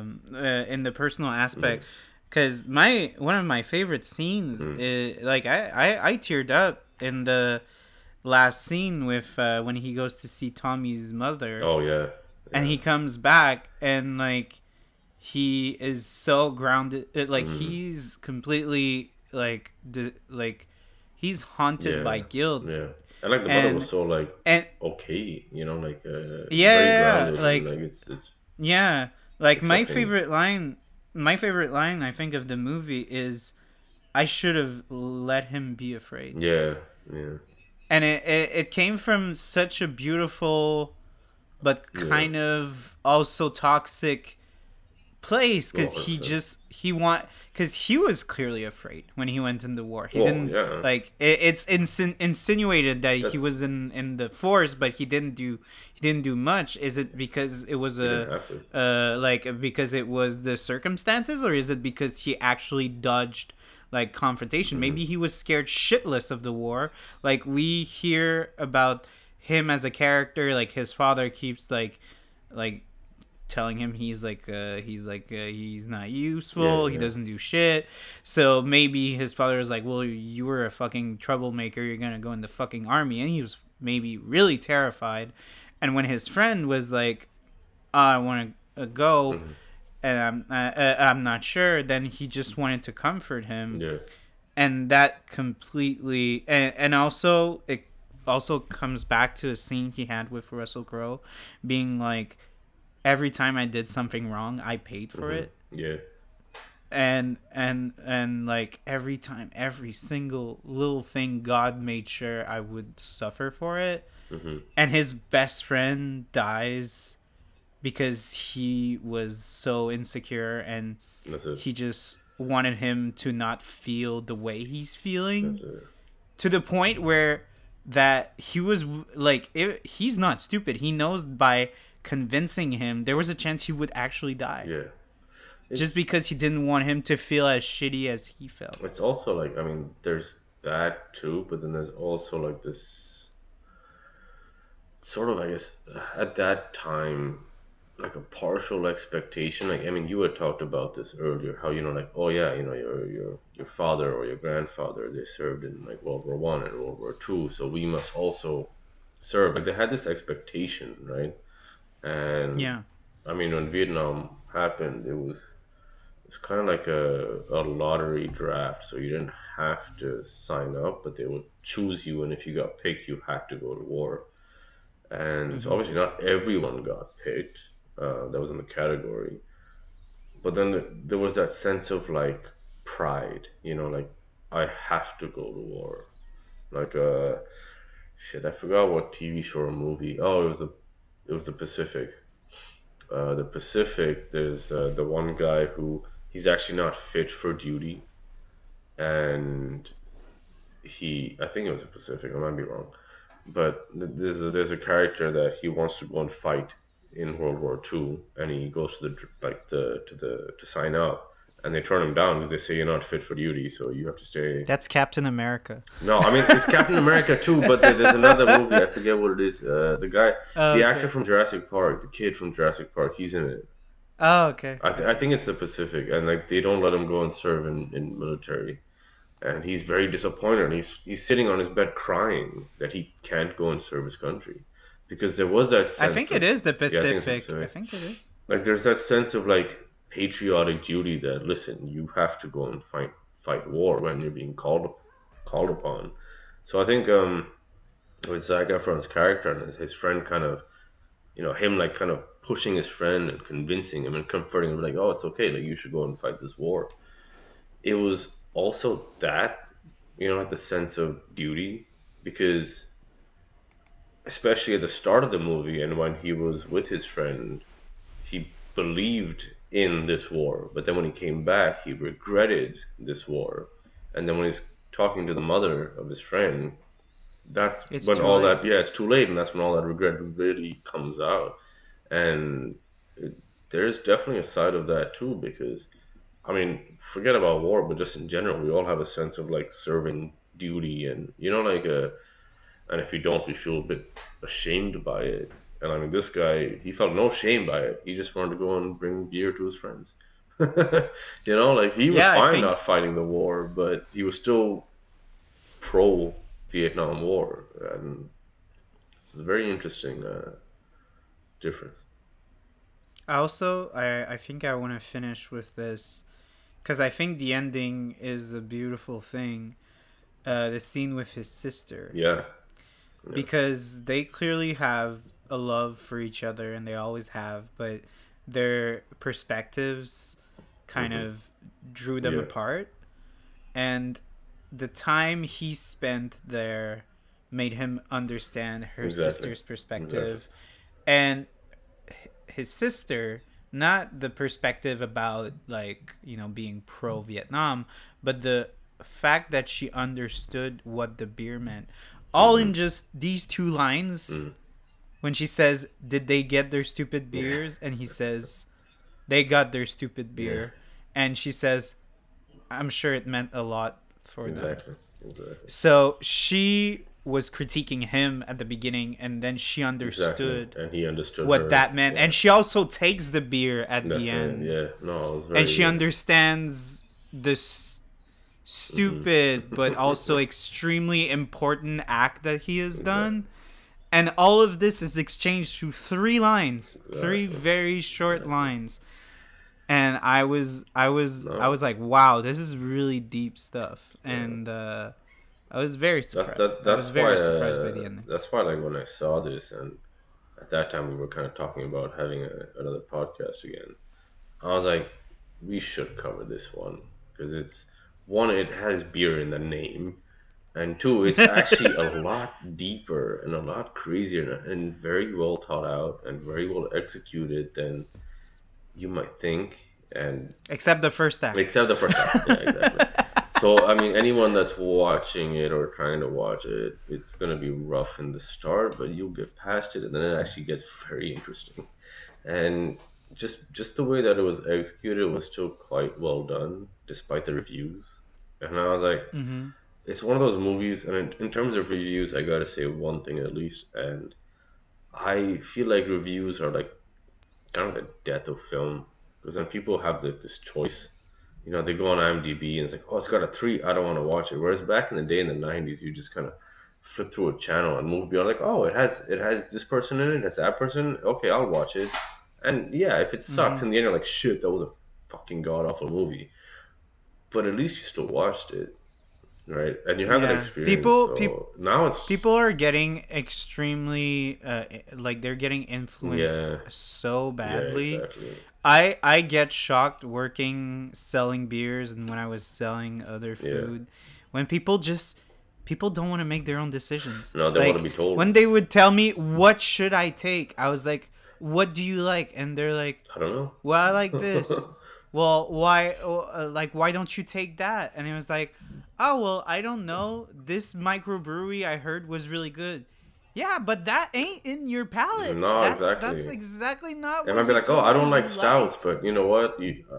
in the personal
Mm-hmm.
aspect, because my one of my favorite scenes
Mm-hmm.
is like I teared up in the last scene with when he goes to see Tommy's mother,
Oh yeah,
and
yeah.
he comes back and like he is so grounded, like
Mm-hmm.
he's completely like like he's haunted by
Yeah,
guilt.
yeah. And like the mother was
and
so like
and
okay, like very
yeah,
grounded and
like
like it's
yeah, like
it's something.
my favorite line I think of the movie is, "I should have let him be afraid,"
Yeah, yeah,
and it came from such a beautiful but
yeah.
kind of also toxic place,
Oh,
because
100%.
he was clearly afraid when he went in the war. He
Well,
didn't,
yeah,
like, it's insinuated that he
that's
was in the force, but he didn't do much. Is it because it was
he didn't have to.
like, because it was the circumstances, or is it because he actually dodged like confrontation?
Hmm.
Maybe he was scared shitless of the war. Like, we hear about him as a character, like his father keeps like telling him he's not
Yeah,
useful, he
yeah.
doesn't do shit. So maybe his father was like, well, you were a fucking troublemaker, you're gonna go in the fucking army. And he was maybe really terrified. And when his friend was like, oh, I want to go,
Hmm.
and I'm not sure, then he just wanted to comfort him.
Yeah.
And that completely, and also it also comes back to a scene he had with Russell Crowe, being like, every time I did something wrong, I paid for
Hmm.
it.
Yeah.
And like, every time, every single little thing, God made sure I would suffer for it.
Hmm.
And his best friend dies because he was so insecure, and
That's it.
he just wanted him to not feel the way he's
That's
feeling,
it.
to the point where that he was like, he's not stupid. He knows by convincing him there was a chance he would actually die,
Yeah.
just
It's
because he didn't want him to feel as shitty as he felt.
it's also like, I mean, there's that too, but then there's also like this sort of, I guess, at that time, like a partial expectation. Like, I mean, you had talked about this earlier, how, like, oh yeah, your father or your grandfather, they served in like World War I and World War II, so we must also serve. Like, they had this expectation, right? And
Yeah.
I mean, when Vietnam happened, it was kind of like a lottery draft. So you didn't have to sign up, but they would choose you, and if you got picked, you had to go to war. And so
Hmm.
obviously not everyone got picked. That was in the category. But then there was that sense of like pride, like I have to go to war. Like shit, I forgot what TV show or movie. Oh, it was the Pacific. The Pacific. There's the one guy who he's actually not fit for duty, and I think it was the Pacific. I might be wrong, but there's a character that he wants to go and fight in World War II, and he goes to to sign up, and they turn him down because they say you're not fit for duty, so you have to stay.
That's Captain America.
No, I mean it's Captain America too, but there's another movie, I forget what it is. The guy,
Oh,
the actor
okay.
from Jurassic Park, the kid from Jurassic Park, he's in it.
Oh, okay.
I think it's the Pacific, and like they don't let him go and serve in military, and he's very disappointed. He's sitting on his bed crying that he can't go and serve his country, because there was that
I
sense
think it
of,
is the
yeah, I think it's the
Pacific. I
Pacific.
think it is.
Like there's that sense of like patriotic duty that, listen, you have to go and fight war when you're being called upon. So I think with Zac Efron's character and his friend kind of, him like kind of pushing his friend and convincing him and comforting him, like, oh, it's okay, like you should go and fight this war. It was also that, like the sense of duty, because especially at the start of the movie and when he was with his friend, he believed in this war, but then when he came back, he regretted this war. And then when he's talking to the mother of his friend, that's
It's
when
too
all
late.
that, yeah, it's too late, and that's when all that regret really comes out. And it, there's definitely a side of that too, because I mean, forget about war, but just in general, we all have a sense of like serving duty, and like and if you don't, you feel a bit ashamed by it. And I mean, this guy, he felt no shame by it. He just wanted to go and bring beer to his friends. Like he was
Yeah, I
fine not
think
fighting the war, but he was still pro Vietnam War, and it's a very interesting difference.
I think I want to finish with this, because I think the ending is a beautiful thing. The scene with his sister,
Yeah, Yeah.
because they clearly have a love for each other and they always have, but their perspectives kind
Hmm.
of drew them
Yeah.
apart. And the time he spent there made him understand her
Exactly.
sister's
Exactly.
perspective, and his sister, not the perspective about, like, being pro Vietnam, but the fact that she understood what the beer meant, all
Hmm.
in just these two lines.
Mm.
When she says, "Did they get their stupid
Yeah.
beers?" and he says, "They got their stupid
Yeah.
beer," and she says, "I'm sure it meant a lot for them."
Exactly. Exactly.
So she was critiquing him at the beginning, and then she
Exactly.
understood
And he understood
what
her.
that meant,
Yeah.
and she also takes the beer at the
That's it.
end,
Yeah. No, it was
and she
very.
understands this
Hmm.
stupid but also extremely important act that he has
Exactly.
done. And all of this is exchanged through three lines, three
Exactly.
very short
Exactly.
lines. And I was
No.
like, wow, this is really deep stuff.
No.
And I was very
That
surprised.
that
I was
that's why
very surprised by the ending.
that's why like when I saw this, and at that time we were kind of talking about having another podcast again. I was like, we should cover this one because it's one, it has beer in the name, and two, it's actually a lot deeper and a lot crazier and very well thought out and very well executed than you might think. And
Except the first act.
except the first act, yeah, exactly. So I mean, anyone that's watching it or trying to watch it, it's gonna be rough in the start, but you'll get past it, and then it actually gets very interesting. And just the way that it was executed was still quite well done, despite the reviews. And I was like,
Mm-hmm.
it's one of those movies, and in terms of reviews, I gotta say one thing at least, and I feel like reviews are like kind of the death of film, because when people have this choice, they go on IMDb and it's like, oh, it's got a 3, I don't want to watch it. Whereas back in the day in the 90s, you just kind of flip through a channel and move beyond, like, oh, it has this person in it, it has that person, okay, I'll watch it. And yeah, if it sucks
Mm-hmm.
in the end, you're like, shit, that was a fucking god awful movie. But at least you still watched it, right? And you have that
Yeah.
experience.
People
So now it's,
people are getting extremely like, they're getting influenced
yeah,
so
yeah,
badly.
exactly.
I get shocked working selling beers and when I was selling other
Yeah.
food, when people don't want to make their own decisions.
No, they want to
Like,
be told.
when they would tell me, what should I take, I was like, what do you like? And they're like,
I don't
well, I like this.
know.
Well, why? Like, why don't you take that? And it was like, oh, well, I don't know. This microbrewery I heard was really good. Yeah, but that ain't in your palate.
No,
That's
exactly.
exactly not
They
what
might be
you
like, "Oh,
told
I
me
don't like
you
stouts,
liked.
but you know what?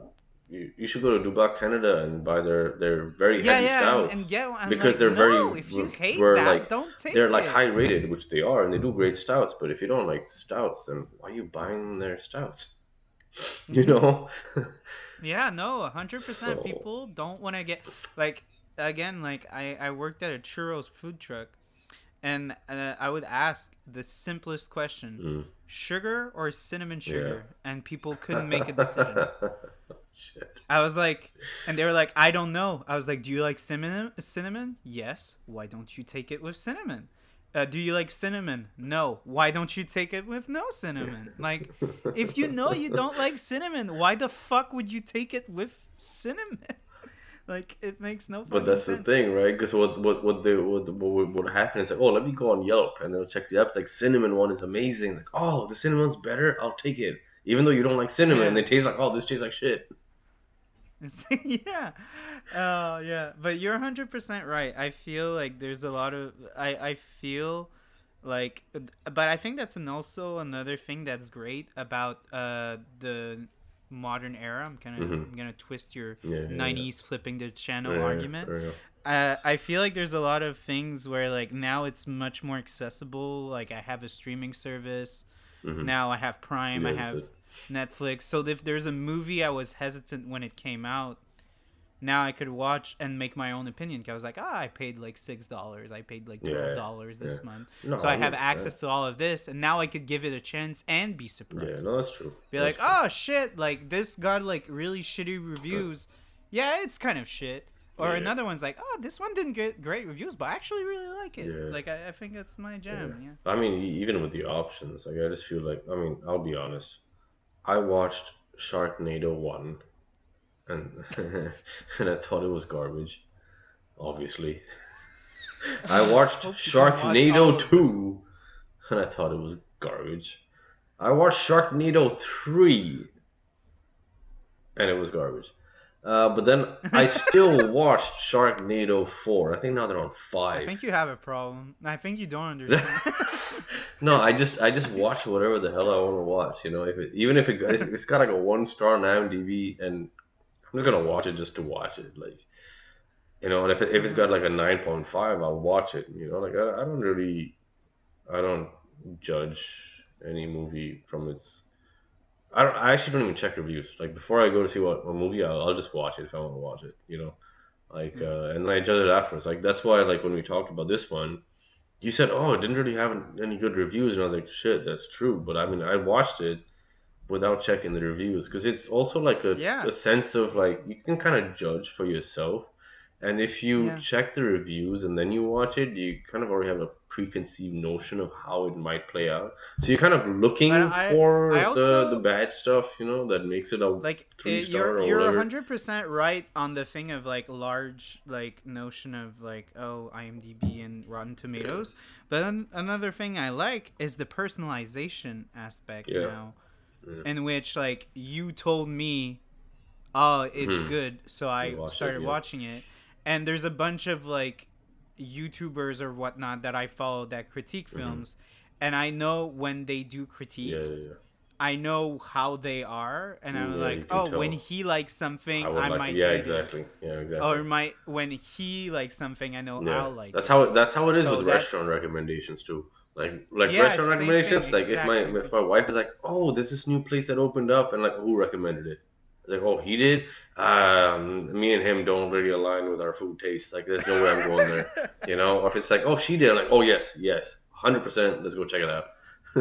You should go to Dubac, Canada, and buy their very
Yeah,
heavy
yeah, and
stouts
get one. I'm
because
like,
they're very
no, if you hate
were
that,
like
don't
they're
take
like high
it.
rated, which they are, and they do great stouts. But if you don't like stouts, then why are you buying their stouts? You
Mm-hmm.
know?
Yeah, no, 100%.
So,
People don't want to get, like, again, like, I worked at a churros food truck, and I would ask the simplest question:
mm,
sugar or cinnamon
yeah.
sugar, and people couldn't make a decision.
Shit.
I was like, and they were like, I don't know. I was like, do you like cinnamon? Cinnamon? Yes. Why don't you take it with cinnamon? Do you like cinnamon? No. Why don't you take it with no cinnamon? Like, if you know you don't like cinnamon, why the fuck would you take it with cinnamon? Like, it makes no
But
fucking
that's the
sense.
thing, right? Because what happen is like, oh, let me go on Yelp and they'll check the apps. Like cinnamon one is amazing. Like, oh, the cinnamon's better. I'll take it, even though you don't like cinnamon.
Yeah.
They taste like, oh, this tastes like shit.
Yeah. Oh, yeah. But you're 100% right. I feel like there's a lot of. I feel like. But I think that's also another thing that's great about the modern era.
Hmm.
I'm gonna twist your
Yeah, yeah,
90s flipping the channel
yeah,
argument.
yeah,
I feel like there's a lot of things where, like, now it's much more accessible. Like, I have a streaming service
yeah. Hmm.
now. I have Prime. I
Yeah, that's
have
it.
Netflix. So if there's a movie I was hesitant when it came out, now I could watch and make my own opinion. 'Cause I was like, I paid like $6. I paid like twelve
Yeah,
dollars
yeah.
this month,
No,
so I have
100%.
access to all of this, and now I could give it a chance and be
Yeah,
surprised.
no, that's true.
Be
That's
like,
true.
oh shit, like this got like really shitty reviews. Yeah, it's kind of shit. Or
Yeah.
another one's like, oh, this one didn't get great reviews, but I actually really like it.
Yeah.
Like I think that's my
Yeah.
jam. Yeah.
I mean, even with the options, like I just feel like, I mean, I'll be honest. I watched Sharknado 1 and and I thought it was garbage, obviously. I watched
Hope you can watch all
Sharknado
of them.
2 and I thought it was garbage. I watched Sharknado 3 and it was garbage. But then I still watched Sharknado 4. I think now they're on
I
5.
think you have a problem. I think you don't understand.
No, I just watch whatever the hell I want to watch. You know, even if it's got like a 1 star on IMDb, and I'm just gonna watch it just to watch it. Like, you know, and if it's got
Mhm.
like a 9.5, I'll watch it. You know, like I don't judge any movie from its. I actually don't even check reviews. Like before I go to see what a movie, I'll just watch it if I want to watch it. You know, like
Mhm.
and then I judge it afterwards. Like that's why like when we talked about this one, you said, "Oh, it didn't really have any good reviews," and I was like, "Shit, that's true." But I mean, I watched it without checking the reviews because it's also like a
Yeah.
sense of like you can kind of judge for yourself, and if you
Yeah.
check the reviews and then you watch it, you kind of already have a preconceived notion of how it might play out. So you're kind of
But
looking
I
for the
also
bad stuff, you know, that makes it a
like
3 star or
you're
whatever.
100% right on the thing of like large like notion of like, oh, IMDb and Rotten
Yeah,
Tomatoes. But another thing I like is the personalization aspect
yeah,
now,
yeah.
in which like you told me, oh, it's
Hmm.
good, so
You
I
watched it,
started
yeah.
watching it. And there's a bunch of like YouTubers or whatnot that I follow that critique
Hmm.
films, and I know when they do
Yeah, yeah,
critiques,
yeah.
I know how they are, and I'm
Yeah, you
like,
can
oh, when
tell.
he likes
I
something,
would
I
like it.
might
Yeah,
hate it,
exactly. Yeah, exactly.
or might when he likes something, I know
Yeah,
I'll like
that's
it.
how it is with
So that's
restaurant recommendations too. Like
yeah, it's
restaurant
same thing,
recommendations. Like
exact same
if
thing.
my wife is like, "Oh, there's this new place that opened up," and like, who recommended it? It's like, "Oh, he did." Me and him don't really align with our food tastes. Like, there's no way I'm going there. You know. Or if it's like, "Oh, she did," I'm like, "Oh, yes, yes, 100%. Let's go check it out."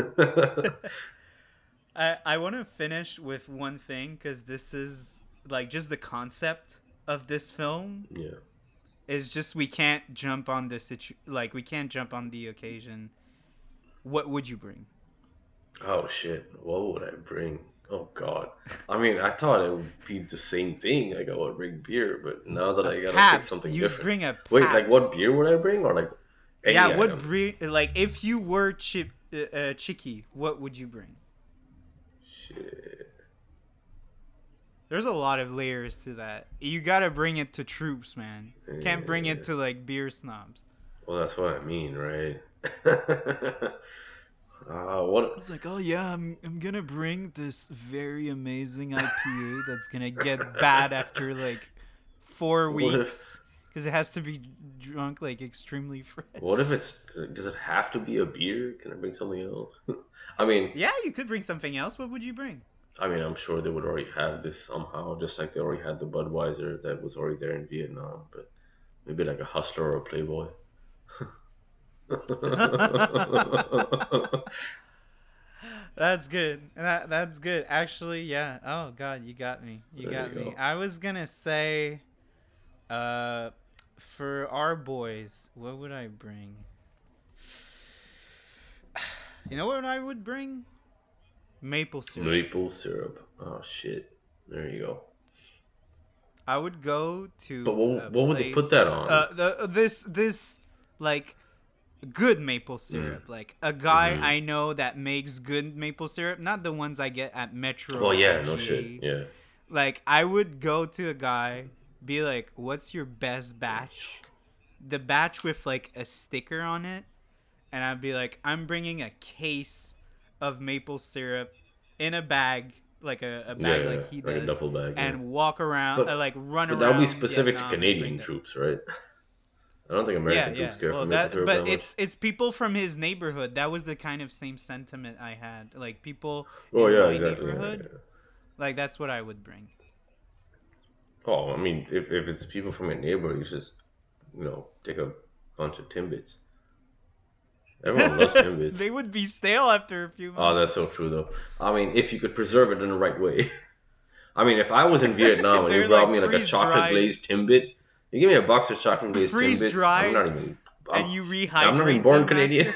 I want to finish with one thing because this is like just the concept of this film
Yeah.
is just we can't jump on the like we can't jump on the occasion. What would you bring?
Oh shit, what would I bring? Oh god. I mean, I thought it would be the same thing. Like I would bring beer, but now that
A
I gotta pick
Pabst.
something
You'd
different.
bring a
Wait, like what
Pabst.
beer would I bring, or like
Yeah,
any
what
item?
bring like if you were Chicky, what would you bring?
Shit.
There's a lot of layers to that. You gotta bring it to troops, man. Can't bring it
Yeah.
to like beer snobs.
Well, that's what I mean, right? What?
It's like, oh yeah, I'm gonna bring this very amazing IPA that's gonna get bad after like four
What if?
weeks because it has to be drunk like extremely fresh.
What if it's? Does it have to be a beer? Can I bring something else? I mean,
Yeah, you could bring something else. What would you bring?
I'm sure they would already have this somehow, just like they already had the Budweiser that was already there in Vietnam. But maybe like a Hustler or a Playboy.
That's good. That's good. Actually, yeah. Oh god, you got me. You
There you
got me.
go.
I was gonna say, uh, for our boys, what would I bring? You know what I would bring? Maple syrup.
Maple syrup. Oh shit. There you go.
I would go
But
to a
what would they put that
place.
on?
This like good maple
Mm.
syrup. Like a guy
Hmm.
I know that makes good maple syrup, not the ones I get at Metro
Well,
or
yeah, no shit.
IGA.
Yeah.
Like I would go to a guy, be like, "What's your best batch?" The batch with like a sticker on it, and I'd be like, "I'm bringing a case of maple syrup in a bag, like a
Yeah,
bag
yeah,
like
yeah.
he
Like a
does,
duffel bag. Yeah.
and walk around,
But
like run
but that would be
around
specific to
Vietnam and bring
Canadian
that."
troops, right? I don't think
Yeah,
American troops
yeah.
care for
Well,
maple syrup that
but
much.
it's people from his neighborhood. That was the kind of same sentiment I had. Like people
Oh
in
yeah,
my
exactly. Yeah,
neighborhood.
yeah.
Like that's what I would bring.
Oh, I mean, if it's people from your neighborhood, you just take a bunch of Timbits. Everyone loves Timbits.
They would be stale after a few
Oh,
months.
that's so true though. I mean, if you could preserve it in the right way. I mean, if I was in Vietnam and you
They're
brought
like
me like a
freeze
chocolate
dried.
glazed Timbit, You give me a box of chocolate glazed
freeze
Timbits. I'm
dried,
not even.
and you
I'm not even
rehydrate
born
them
Canadian.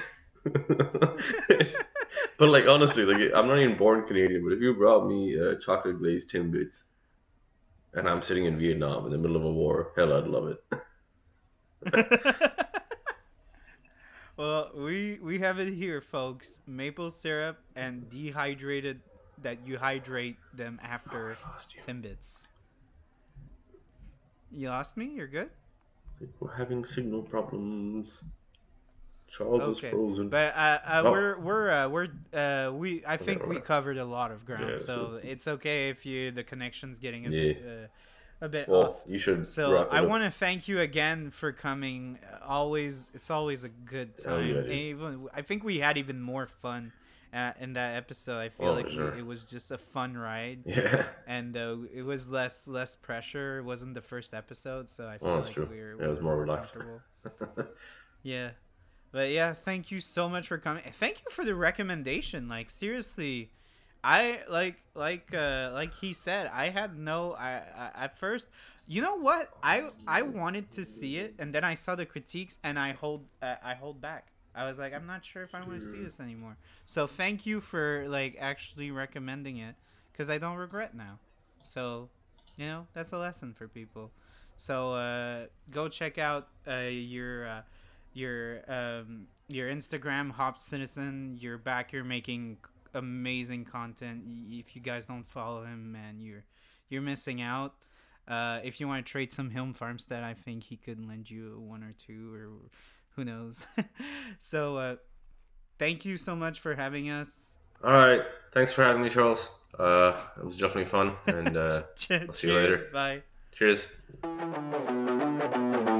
But like honestly, like I'm not even born Canadian. But if you brought me chocolate glazed Timbits, and I'm sitting in Vietnam in the middle of a war, hell, I'd love it.
Well, we have it here, folks. Maple syrup and dehydrated that you hydrate them after
I lost you.
Timbits. You lost me? You're good?
We're having signal problems. Charles is
Okay.
frozen.
But
Oh,
we I
okay,
think we
alright.
covered a lot of
Yeah,
ground,
that's good.
so it's okay if the connection's getting
Yeah.
a bit
Well,
off.
you should
So
wrap
I
it up.
want to thank you again for coming. It's always a good
Oh yeah,
time. And
dude.
even I think we had even more fun in that episode. I feel
Oh,
like
for sure.
it was just a fun ride,
Yeah.
and it was less pressure. It wasn't the first episode, so I
Oh,
feel
that's
like
true.
we're
Yeah, it was
we're
more
more
relaxed.
comfortable. Yeah. But yeah, thank you so much for coming. Thank you for the recommendation. Like seriously, I like he said, I had no I at first, you know what? I wanted to see it, and then I saw the critiques and I hold back. I was like, I'm not sure if I want to see this anymore. So thank you for like actually recommending it, cuz I don't regret now. So, that's a lesson for people. So go check out your Instagram, Hop Citizen. You're back. You're making amazing content. If you guys don't follow him, man, you're missing out. If you want to trade some Hilm Farmstead, I think he could lend you one or two, or who knows. So thank you so much for having us.
All right. Thanks for having me, Charles. It was definitely fun, and I'll see you
Cheers.
later.
Bye.
Cheers.